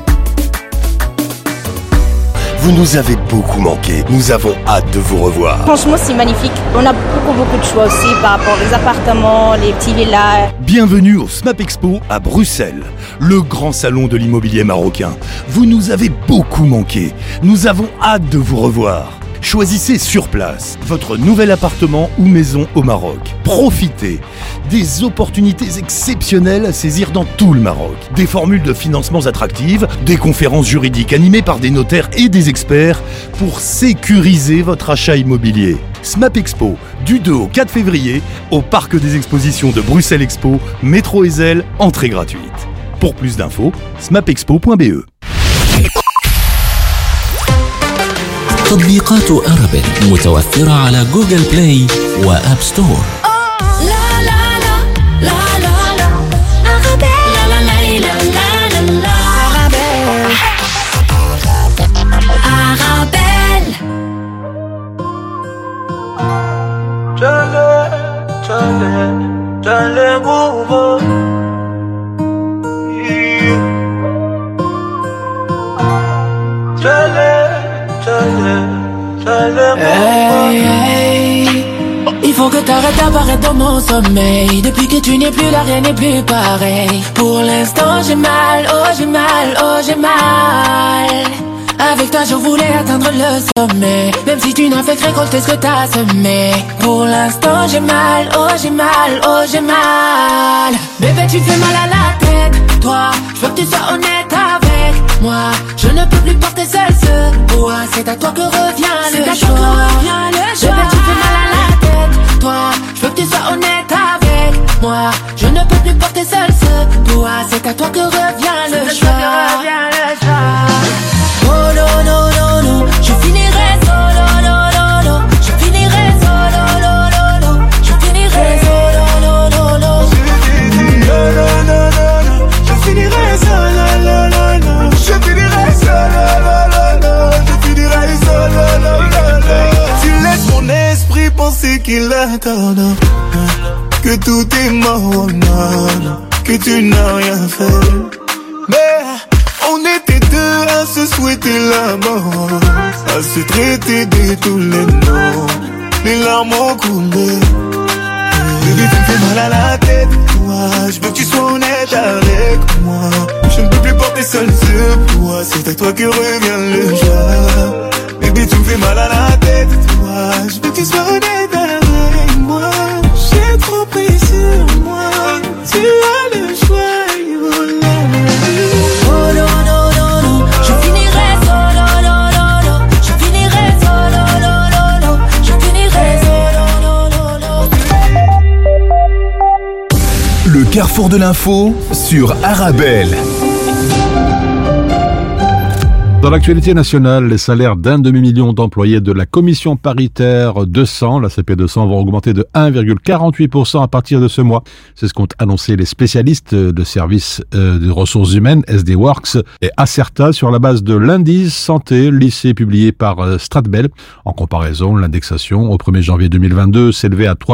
Speaker 10: Vous nous avez beaucoup manqué. Nous avons hâte de vous revoir.
Speaker 11: Franchement, c'est magnifique. On a beaucoup de choix aussi par rapport aux appartements, les petits villas.
Speaker 10: Bienvenue au SMAP Expo à Bruxelles, le grand salon de l'immobilier marocain. Vous nous avez beaucoup manqué. Nous avons hâte de vous revoir. Choisissez sur place votre nouvel appartement ou maison au Maroc. Profitez des opportunités exceptionnelles à saisir dans tout le Maroc. Des formules de financements attractives, des conférences juridiques animées par des notaires et des experts pour sécuriser votre achat immobilier. SMAP Expo, du 2 au 4 février, au Parc des Expositions de Bruxelles Expo, métro Ezel, entrée gratuite. Pour plus d'infos, smapexpo.be.
Speaker 3: تطبيقات أرابيل متوفرة على جوجل بلاي وآب ستور.
Speaker 7: Hey, hey. Il faut que t'arrêtes d'apparaître dans mon sommeil. Depuis que tu n'es plus là, rien n'est plus pareil. Pour l'instant j'ai mal, oh j'ai mal, oh j'ai mal. Avec toi je voulais atteindre le sommet, même si tu n'as fait que récolter ce que t'as semé. Pour l'instant j'ai mal, oh j'ai mal, oh j'ai mal. Bébé tu fais mal à la tête, toi. Je veux que tu sois honnête avec moi. Je ne peux plus porter seul ce poids. C'est à toi que revient le choix. Bébé tu fais mal à la tête, toi. Je veux que tu sois honnête avec moi. Je ne peux plus porter seul ce poids. C'est à toi que revient le choix. Oh non non non non, je finirai solo, non non non, je finirai solo, non non non, je finirai solo, non non non, non non non, je finirai solo, non non non, je finirai solo, non non non, je finirai solo, non non non. Tu laisses mon esprit penser qu'il est tard, que tout est mort, non, que tu n'as rien fait, mais on était deux à se souhaiter la mort, à se traiter de tous les noms. Les larmes ont coulé. Baby, tu me fais mal à la tête, toi. Je veux que tu sois honnête avec moi. Je ne peux plus porter seul ce poids. C'est à toi que revient le joie. Baby, tu me fais mal à la tête, toi. Je veux que tu sois honnête avec moi. J'ai trop pris sur moi. Tu as le choix.
Speaker 5: Le carrefour de l'info sur Arabelle.
Speaker 6: Dans l'actualité nationale, les salaires d'un demi-million d'employés de la commission paritaire 200, la CP200, vont augmenter de 1,48% à partir de ce mois. C'est ce qu'ont annoncé les spécialistes de services de ressources humaines, SD Works et Acerta, sur la base de l'indice santé lycée publié par Stratbel. En comparaison, l'indexation au 1er janvier 2022 s'élevait à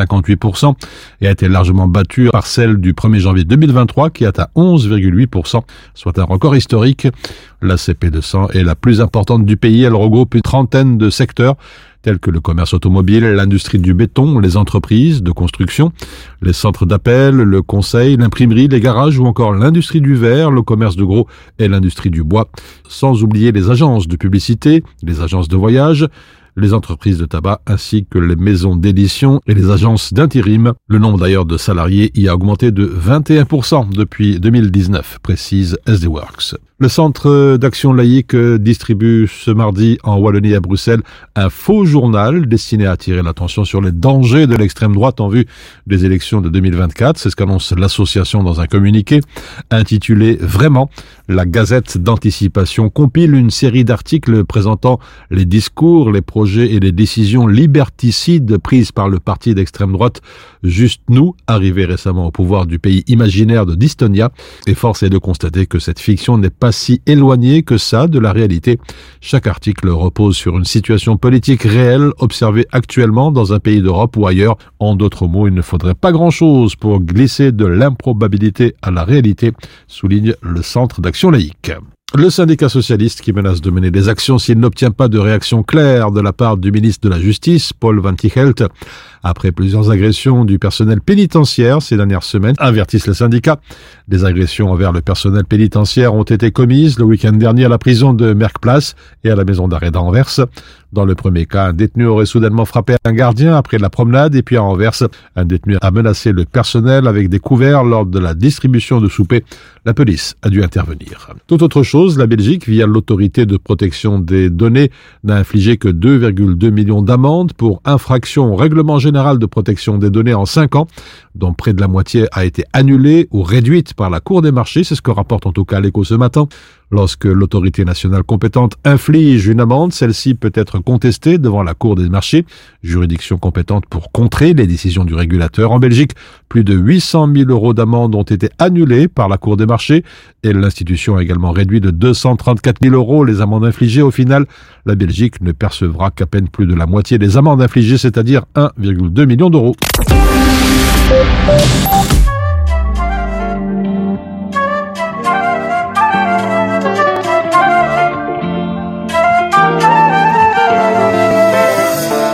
Speaker 6: 3,58% et a été largement battue par celle du 1er janvier 2023 qui atteint 11,8%, soit un record historique. La CP200 est la plus importante du pays. Elle regroupe une trentaine de secteurs tels que le commerce automobile, l'industrie du béton, les entreprises de construction, les centres d'appel, le conseil, l'imprimerie, les garages ou encore l'industrie du verre, le commerce de gros et l'industrie du bois. Sans oublier les agences de publicité, les agences de voyage, les entreprises de tabac ainsi que les maisons d'édition et les agences d'intérim. Le nombre d'ailleurs de salariés y a augmenté de 21% depuis 2019, précise SD Works. Le Centre d'action laïque distribue ce mardi en Wallonie à Bruxelles un faux journal destiné à attirer l'attention sur les dangers de l'extrême droite en vue des élections de 2024. C'est ce qu'annonce l'association dans un communiqué intitulé « Vraiment ». La Gazette d'anticipation compile une série d'articles présentant les discours, les projets et les décisions liberticides prises par le parti d'extrême droite Juste Nous, arrivé récemment au pouvoir du pays imaginaire de Distonia. Et force est de constater que cette fiction n'est pas si éloignée que ça de la réalité. Chaque article repose sur une situation politique réelle observée actuellement dans un pays d'Europe ou ailleurs. En d'autres mots, il ne faudrait pas grand-chose pour glisser de l'improbabilité à la réalité, souligne le Centre d'action laïque. Le syndicat socialiste qui menace de mener des actions s'il n'obtient pas de réaction claire de la part du ministre de la Justice, Paul Van Tichelt, après plusieurs agressions du personnel pénitentiaire ces dernières semaines, avertissent les syndicats. Des agressions envers le personnel pénitentiaire ont été commises le week-end dernier à la prison de Merckplace et à la maison d'arrêt d'Anvers. Dans le premier cas, un détenu aurait soudainement frappé un gardien après la promenade, et puis à Anvers, un détenu a menacé le personnel avec des couverts lors de la distribution de souper. La police a dû intervenir. Tout autre chose, la Belgique, via l'autorité de protection des données, n'a infligé que 2,2 millions d'amendes pour infraction au règlement général de protection des données en 5 ans, dont près de la moitié a été annulée ou réduite par la Cour des marchés. C'est ce que rapporte en tout cas l'Écho ce matin. Lorsque l'autorité nationale compétente inflige une amende, celle-ci peut être contestée devant la Cour des marchés, juridiction compétente pour contrer les décisions du régulateur. En Belgique, plus de 800 000 € d'amende ont été annulés par la Cour des marchés et l'institution a également réduit de 234 000 € les amendes infligées. Au final, la Belgique ne percevra qu'à peine plus de la moitié des amendes infligées, c'est-à-dire 1,2 million d'euros.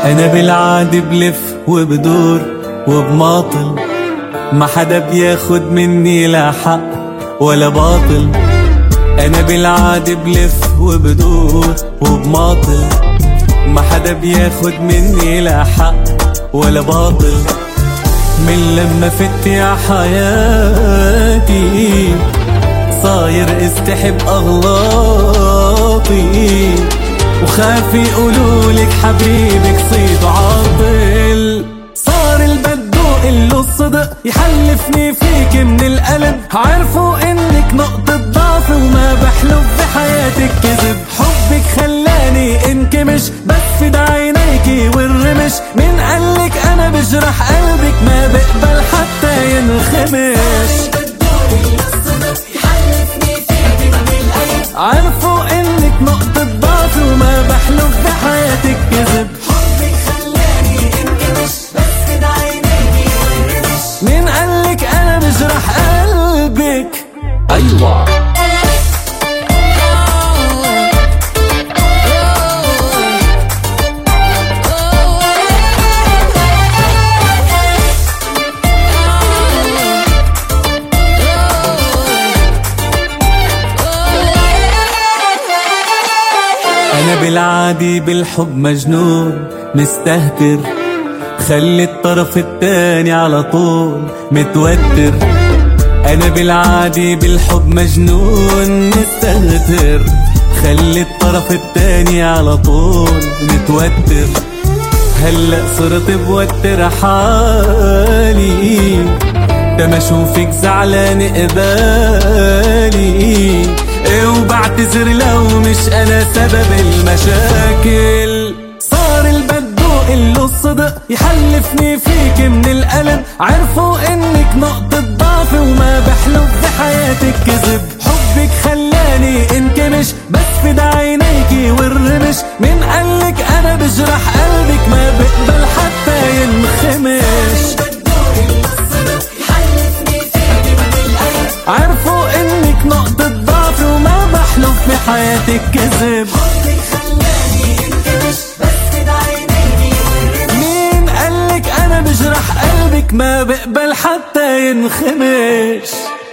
Speaker 7: أنا بالعادي بلف وبدور وبماطل، ما حدا بياخد مني لا حق ولا باطل. أنا بالعادي بلف وبدور وبماطل، ما حدا بياخد مني لا حق ولا باطل. من لما فت يا حياتي صاير استحب أغلاطي، وخاف يقولولك حبيبك صيد عاطل. صار البدو إله الصدق يحلفني فيك من القلب، عرفوا إنك نقطة ضعف وما بحلف بحياتك كذب. حبك خلاني انكمش بس في عينيكي والرمش، من قالك أنا بجرح قلبك ما بقبل حتى ينخمش. عرفوا إنك نقطة ضعف وما بحلف بحياتك كذب. حبك خلاني انكمش بس في عينيكي والرمش، من قالك أنا بجرح قلبك. أيوة أنا بالعادي بالحب مجنون مستهتر، خلي الطرف التاني على طول متوتر. أنا بالعادي بالحب مجنون مستهتر، خلي الطرف التاني على طول متوتر. هلأ صرت بوتر حالي لما اشوفك زعلان قبالي، وبعتذر لو مش انا سبب المشاكل. صار البدو إله الصدق يحلفني فيك من القلب، عرفوا انك نقطة ضعف وما بحلف بحياتك كذب. حبك خلاني انكمش بس في عينيكي والرمش، من قالك انا بجرح قلبك ما بقبل حتى ينخمش. عرفوا انك نقطة ضعف وما بحلف بحياتك كذب. حبك خلاني انكمش بس في عينيكي والرمش، مين قالك انا بجرح قلبك ما بقبل حتى ينخمش.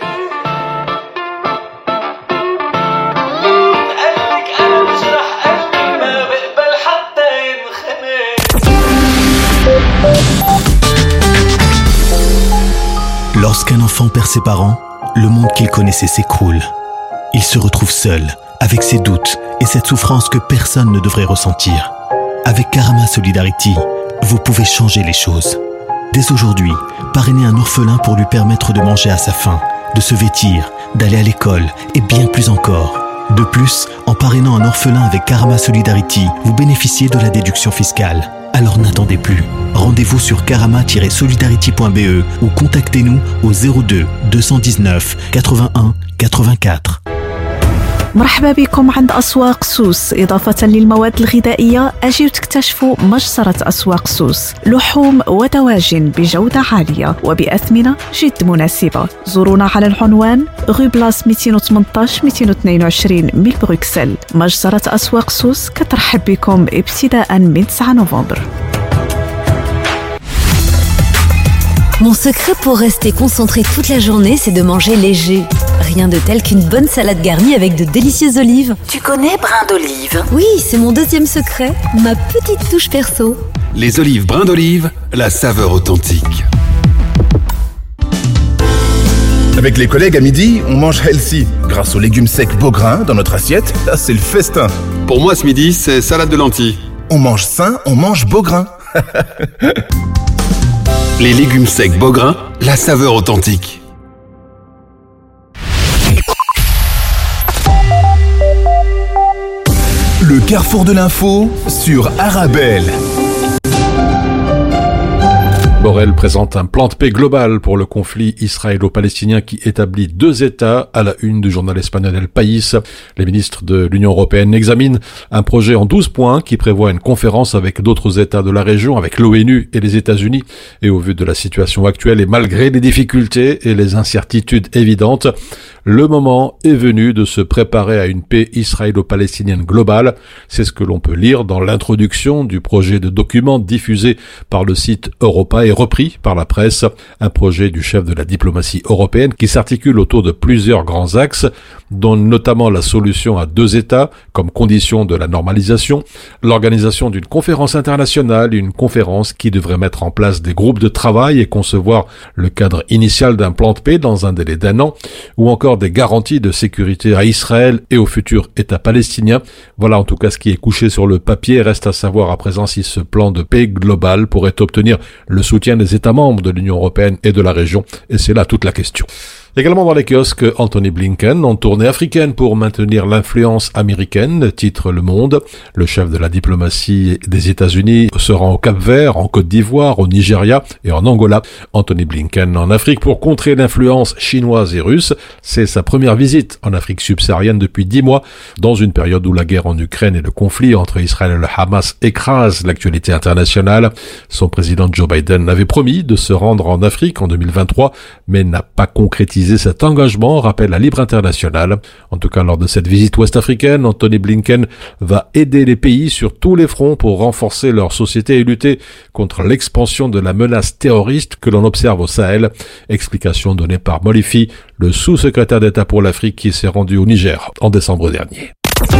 Speaker 12: Lorsqu'un enfant perd ses parents, le monde qu'il connaissait s'écroule. Il se retrouve seul, avec ses doutes et cette souffrance que personne ne devrait ressentir. Avec Karama Solidarity, vous pouvez changer les choses. Dès aujourd'hui, parrainez un orphelin pour lui permettre de manger à sa faim, de se vêtir, d'aller à l'école et bien plus encore. De plus, en parrainant un orphelin avec Karama Solidarity, vous bénéficiez de la déduction fiscale. Alors n'attendez plus. Rendez-vous sur karama-solidarity.be ou contactez-nous au 02 219 81 84.
Speaker 13: مرحبا بكم عند أسواق سوس. إضافة للمواد الغذائية أجيو تكتشفوا مجزرة أسواق سوس، لحوم ودواجن بجودة عالية وبأثمنة جد مناسبة. زورونا على العنوان غو بلاس 218-222 من بروكسل. مجزرة أسواق سوس كترحب بكم ابتداء من 9 نوفمبر.
Speaker 14: Mon secret pour rester concentré toute la journée, c'est de manger léger. Rien de tel qu'une bonne salade garnie avec de délicieuses olives.
Speaker 15: Tu connais brin d'olive?
Speaker 14: Oui, c'est mon deuxième secret, ma petite touche perso.
Speaker 16: Les olives brin d'olive, la saveur authentique.
Speaker 5: Avec les collègues à midi, on mange healthy. Grâce aux légumes secs Beaugrain dans notre assiette, là c'est le festin.
Speaker 16: Pour moi ce midi, c'est salade de lentilles.
Speaker 5: On mange sain, on mange Beaugrain.
Speaker 16: Les légumes secs Beaugrain, la saveur authentique.
Speaker 5: Le carrefour de l'info sur Arabelle.
Speaker 6: Borrell présente un plan de paix global pour le conflit israélo-palestinien qui établit 2 États à la une du journal espagnol El País. Les ministres de l'Union européenne examinent un projet en 12 points qui prévoit une conférence avec d'autres États de la région, avec l'ONU et les États-Unis. Et au vu de la situation actuelle et malgré les difficultés et les incertitudes évidentes, Le moment est venu de se préparer à une paix israélo-palestinienne globale. C'est ce que l'on peut lire dans l'introduction du projet de document diffusé par le site Europa et repris par la presse. Un projet du chef de la diplomatie européenne qui s'articule autour de plusieurs grands axes, dont notamment la solution à 2 États comme condition de la normalisation, l'organisation d'une conférence internationale, une conférence qui devrait mettre en place des groupes de travail et concevoir le cadre initial d'un plan de paix dans un délai d'1 an, ou encore des garanties de sécurité à Israël et au futur État palestinien. Voilà en tout cas ce qui est couché sur le papier. Reste à savoir à présent si ce plan de paix global pourrait obtenir le soutien des États membres de l'Union européenne et de la région. Et c'est là toute la question. Également dans les kiosques, Anthony Blinken en tournée africaine pour maintenir l'influence américaine, titre Le Monde. Le chef de la diplomatie des États-Unis se rend au Cap-Vert, en Côte d'Ivoire, au Nigeria et en Angola. Anthony Blinken en Afrique pour contrer l'influence chinoise et russe. C'est sa première visite en Afrique subsaharienne depuis 10 mois, dans une période où la guerre en Ukraine et le conflit entre Israël et le Hamas écrasent l'actualité internationale. Son président Joe Biden avait promis de se rendre en Afrique en 2023, mais n'a pas concrétisé cet engagement, rappelle la Libre Internationale. En tout cas, lors de cette visite ouest-africaine, Anthony Blinken va aider les pays sur tous les fronts pour renforcer leur société et lutter contre l'expansion de la menace terroriste que l'on observe au Sahel. Explication donnée par Molifi, le sous-secrétaire d'État pour l'Afrique qui s'est rendu au Niger en décembre dernier.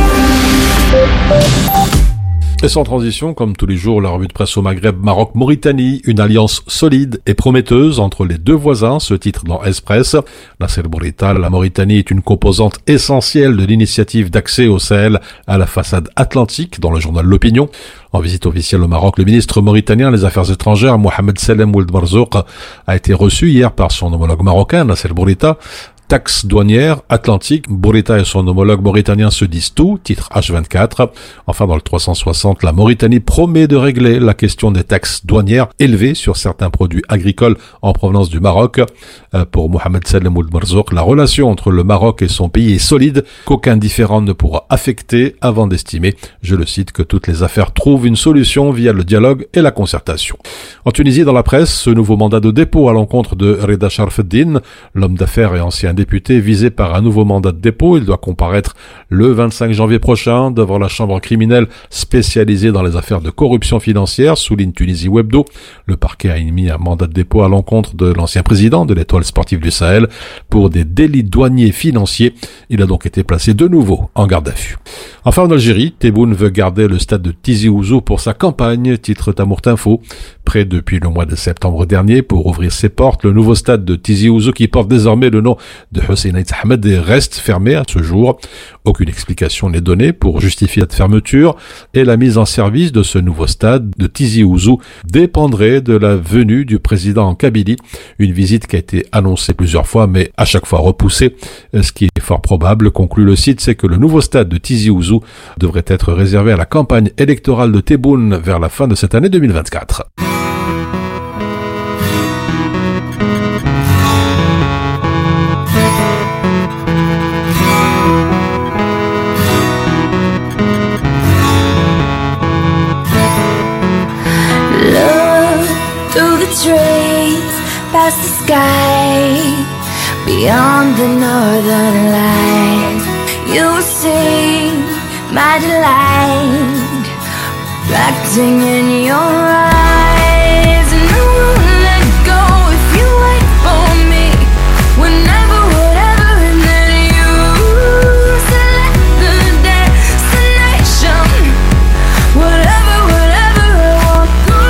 Speaker 6: Et sans transition, comme tous les jours, la revue de presse au Maghreb, Maroc-Mauritanie, une alliance solide et prometteuse entre les deux voisins, ce titre dans Express. Nasser Bourita, la Mauritanie est une composante essentielle de l'initiative d'accès au Sahel à la façade atlantique, dans le journal L'Opinion. En visite officielle au Maroc, le ministre mauritanien des Affaires étrangères, Mohamed Salem Ould Marzouk, a été reçu hier par son homologue marocain, Nasser Bourita. Taxe douanière atlantique, Bourita et son homologue mauritanien se disent tout, titre H24. Enfin, dans le 360, la Mauritanie promet de régler la question des taxes douanières élevées sur certains produits agricoles en provenance du Maroc. Pour Mohamed Salem Ould Marzouk, la relation entre le Maroc et son pays est solide, qu'aucun différend ne pourra affecter avant d'estimer, je le cite, que toutes les affaires trouvent une solution via le dialogue et la concertation. En Tunisie, dans la presse, ce nouveau mandat de dépôt à l'encontre de Reda Sharfeddine, l'homme d'affaires et ancien député visé par un nouveau mandat de dépôt. Il doit comparaître le 25 janvier prochain devant la chambre criminelle spécialisée dans les affaires de corruption financière, souligne Tunisie Webdo. Le parquet a émis un mandat de dépôt à l'encontre de l'ancien président de l'Étoile sportive du Sahel pour des délits douaniers financiers. Il a donc été placé de nouveau en garde à vue. Enfin, en Algérie, Tebboune veut garder le stade de Tizi Ouzou pour sa campagne, titre Tamourt Info. Prêt depuis le mois de septembre dernier pour ouvrir ses portes, le nouveau stade de Tizi Ouzou, qui porte désormais le nom de Hussein Aït Ahmed, reste fermé à ce jour. Aucune explication n'est donnée pour justifier cette fermeture et la mise en service de ce nouveau stade de Tizi Ouzou dépendrait de la venue du président en Kabylie. Une visite qui a été annoncée plusieurs fois mais à chaque fois repoussée. Ce qui est fort probable, conclut le site, c'est que le nouveau stade de Tizi Ouzou devrait être réservé à la campagne électorale de Tebboune vers la fin de cette année 2024.
Speaker 17: Past the sky, beyond the northern lights, you will see my delight, reflecting in your eyes. And I won't let go if you wait for me, whenever, whatever, and then you select the destination, whatever, whatever I want to.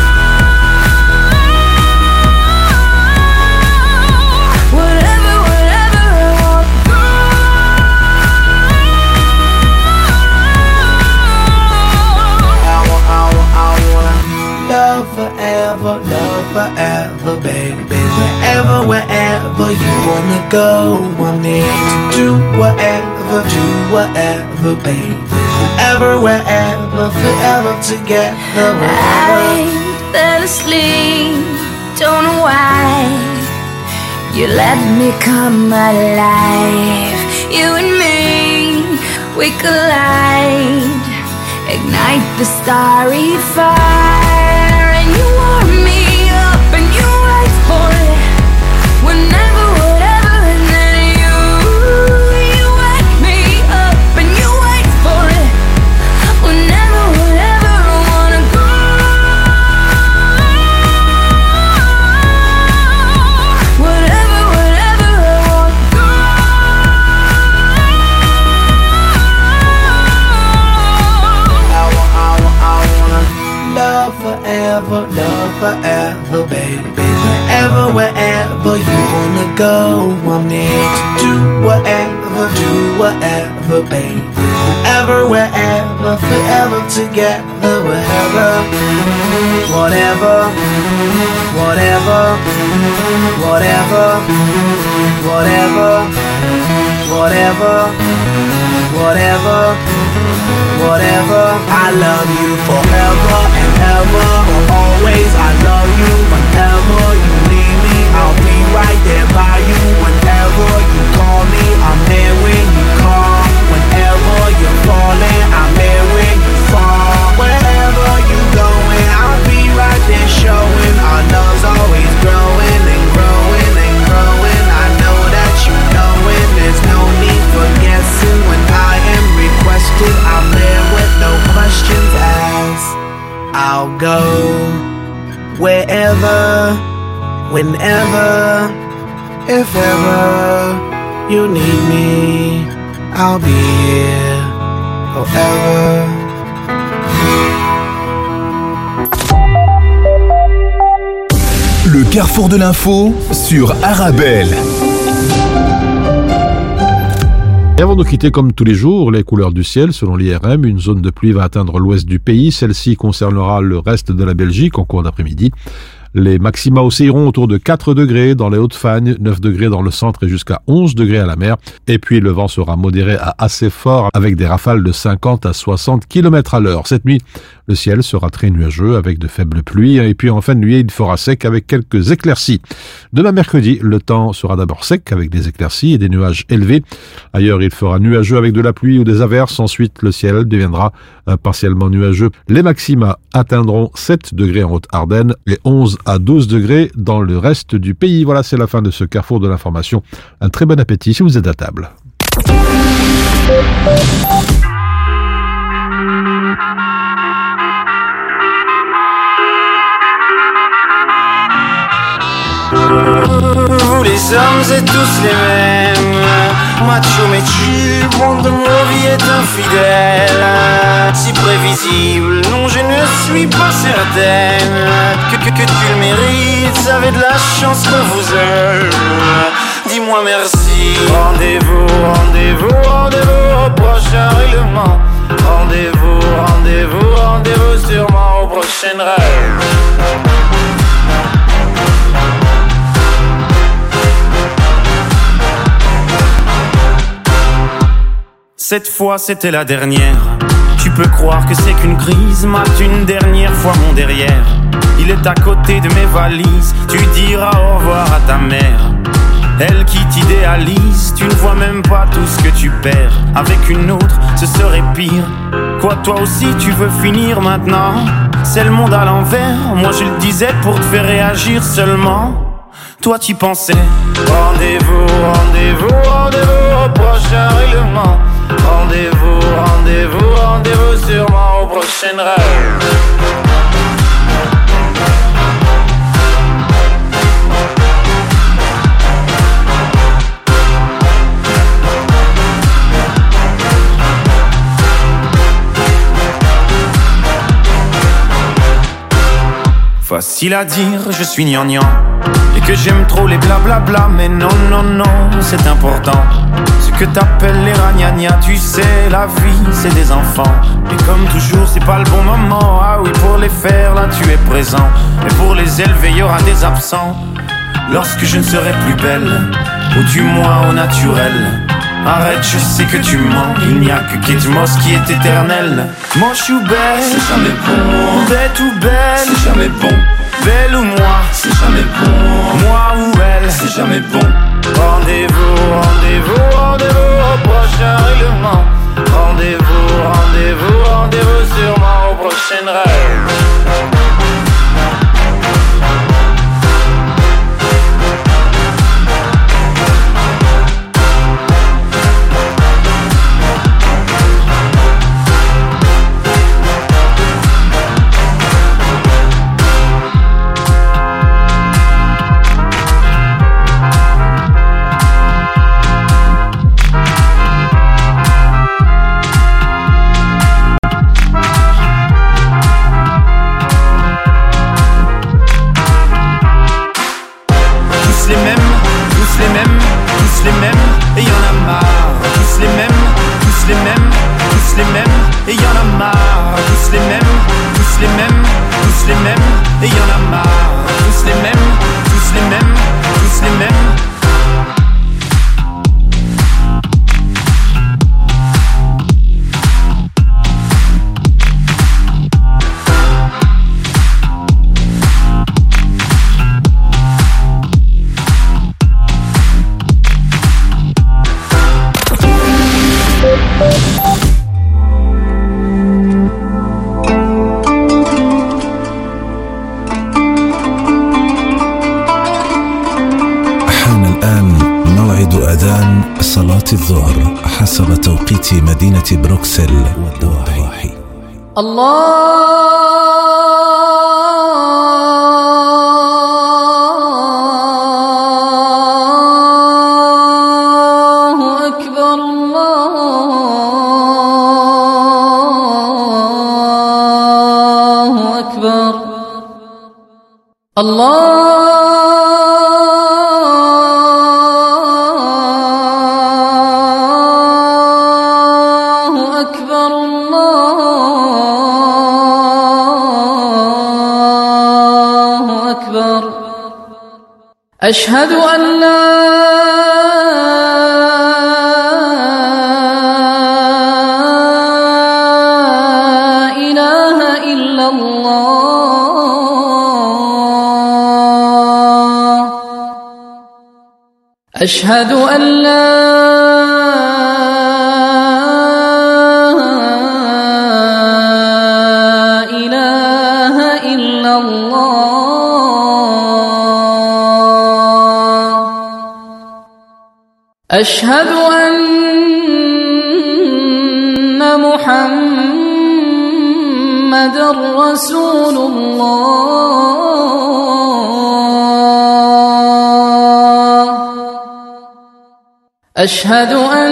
Speaker 17: Forever, baby, wherever you wanna go, I'm here to do whatever, baby. Wherever, forever together. I fell asleep, don't know why. You let me come alive. You and me, we collide, ignite the starry fire, and you warm me up and you wait for it, whenever, whatever, and then you
Speaker 7: forever, love forever, baby. Wherever, wherever you wanna go, I'm there to do whatever, baby. Wherever, wherever, forever together, wherever, whatever, whatever, whatever, whatever, whatever, whatever, whatever. I love you forever and ever, always. I love you whenever you need me. I'll be right there by you whenever you call me. I'm there when you call. Whenever you're falling, I'm there when you fall. Wherever you're going, I'll be right there showing. Our love's always growing and growing and growing. I know that you know it. There's no need for guessing. When I am requested, I'm there with no questions asked. I'll go wherever, whenever, if ever you need me, I'll be here forever.
Speaker 5: Le carrefour de l'info sur Arabelle.
Speaker 6: Et avant de quitter comme tous les jours, les couleurs du ciel, selon l'IRM, une zone de pluie va atteindre l'ouest du pays. Celle-ci concernera le reste de la Belgique en cours d'après-midi. Les maxima oscilleront autour de 4 degrés dans les Hauts-de-Fagne, 9 degrés dans le centre et jusqu'à 11 degrés à la mer. Et puis le vent sera modéré à assez fort avec des rafales de 50 à 60 km à l'heure. Cette nuit, le ciel sera très nuageux avec de faibles pluies. Et puis en fin de nuit, il fera sec avec quelques éclaircies. Demain mercredi, le temps sera d'abord sec avec des éclaircies et des nuages élevés. Ailleurs, il fera nuageux avec de la pluie ou des averses. Ensuite, le ciel deviendra partiellement nuageux. Les maxima atteindront 7 degrés en Haute-Ardenne et 11 à 12 degrés dans le reste du pays. Voilà, c'est la fin de ce carrefour de l'information. Un très bon appétit si vous êtes à table.
Speaker 7: Vous les hommes êtes tous les mêmes, macho mais tu, monde de mon vie est infidèle. Si prévisible, non je ne suis pas certaine que tu le mérites, avez de la chance qu'on vous aime. Dis-moi merci. Rendez-vous, rendez-vous, rendez-vous au prochain règlement. Rendez-vous, rendez-vous, rendez-vous sûrement au prochain rêve. Cette fois c'était la dernière. Tu peux croire que c'est qu'une crise, mate une dernière fois mon derrière. Il est à côté de mes valises, tu diras au revoir à ta mère. Elle qui t'idéalise, tu ne vois même pas tout ce que tu perds. Avec une autre, ce serait pire. Quoi, toi aussi tu veux finir maintenant? C'est le monde à l'envers, moi je le disais pour te faire réagir seulement. Toi tu pensais. Rendez-vous, rendez-vous, rendez-vous au prochain règlement. Rendez-vous, rendez-vous, rendez-vous sûrement au prochain rêve. Facile à dire, je suis gnangnan et que j'aime trop les blablabla, mais non, non, non, c'est important. Ce que t'appelles les ragnagnas, tu sais, la vie, c'est des enfants. Et comme toujours, c'est pas le bon moment. Ah oui, pour les faire, là, tu es présent. Et pour les élever, y aura des absents. Lorsque je ne serai plus belle, ou du moins au naturel. Arrête, je sais que tu mens. Il n'y a que Kate Moss qui est éternelle. Moche ou belle, c'est jamais bon. Bête ou belle, c'est jamais bon. Belle ou moi, c'est jamais bon. Moi ou elle, c'est jamais bon. Rendez-vous, rendez-vous, rendez-vous au prochain règlement. Rendez-vous, rendez-vous, rendez-vous sûrement au prochain rêve.
Speaker 3: صلاة الظهر حسب توقيت مدينة بروكسل والضواحي.
Speaker 18: أشهد أن لا إله إلا الله. أشهد أن لا إله إلا الله. أشهد أن محمدًا رسول الله. أشهد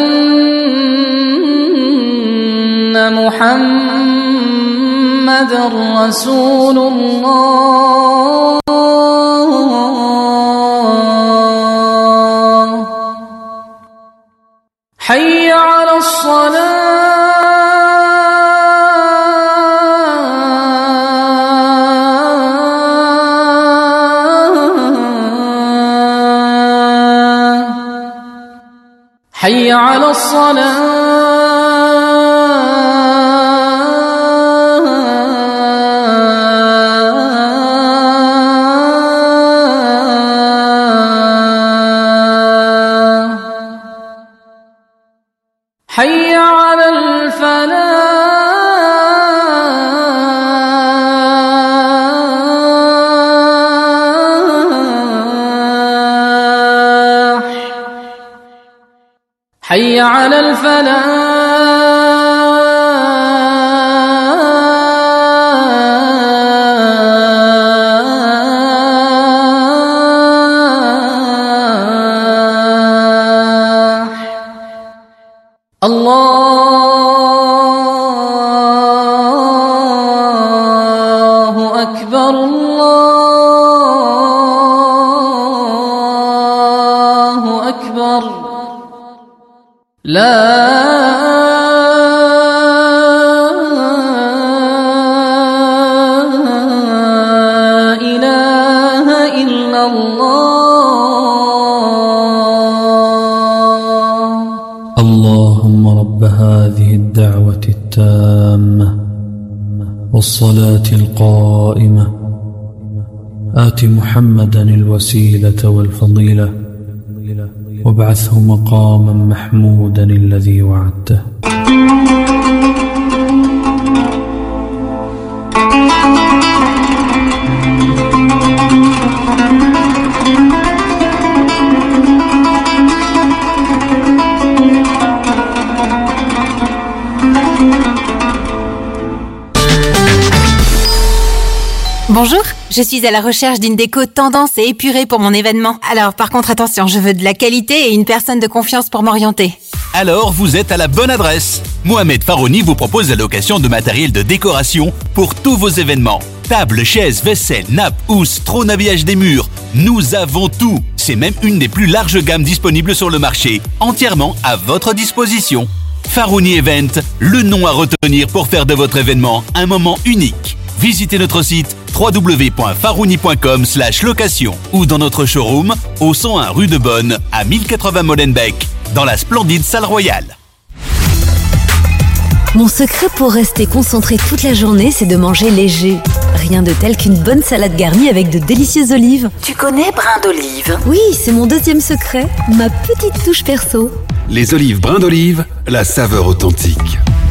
Speaker 18: أن محمدًا رسول الله. حي على الصلاة. حي على الصلاة. حي على الفلاح. حي على الفلاح. الله أكبر. الله أكبر. لا إله إلا الله.
Speaker 19: اللهم رب هذه الدعوة التامة والصلاة القائمة آت محمدا الوسيلة والفضيلة وابعثه مقاما محمودا الذي وعدته.
Speaker 20: Bonjour, je suis à la recherche d'une déco tendance et épurée pour mon événement. Alors par contre attention, je veux de la qualité et une personne de confiance pour m'orienter.
Speaker 21: Alors vous êtes à la bonne adresse. Mohamed Farouni vous propose la location de matériel de décoration pour tous vos événements. Tables, chaises, vaisselle, nappes, housses, trône habillage des murs. Nous avons tout. C'est même une des plus larges gammes disponibles sur le marché, entièrement à votre disposition. Farouni Event, le nom à retenir pour faire de votre événement un moment unique. Visitez notre site www.farouni.com/location ou dans notre showroom au 101 rue de Bonne à 1080 Molenbeek dans la splendide salle royale.
Speaker 14: Mon secret pour rester concentré toute la journée, c'est de manger léger. Rien de tel qu'une bonne salade garnie avec de délicieuses olives.
Speaker 15: Tu connais Brin d'Olive?
Speaker 14: Oui, c'est mon deuxième secret, ma petite touche perso.
Speaker 16: Les olives Brin d'Olive, la saveur authentique.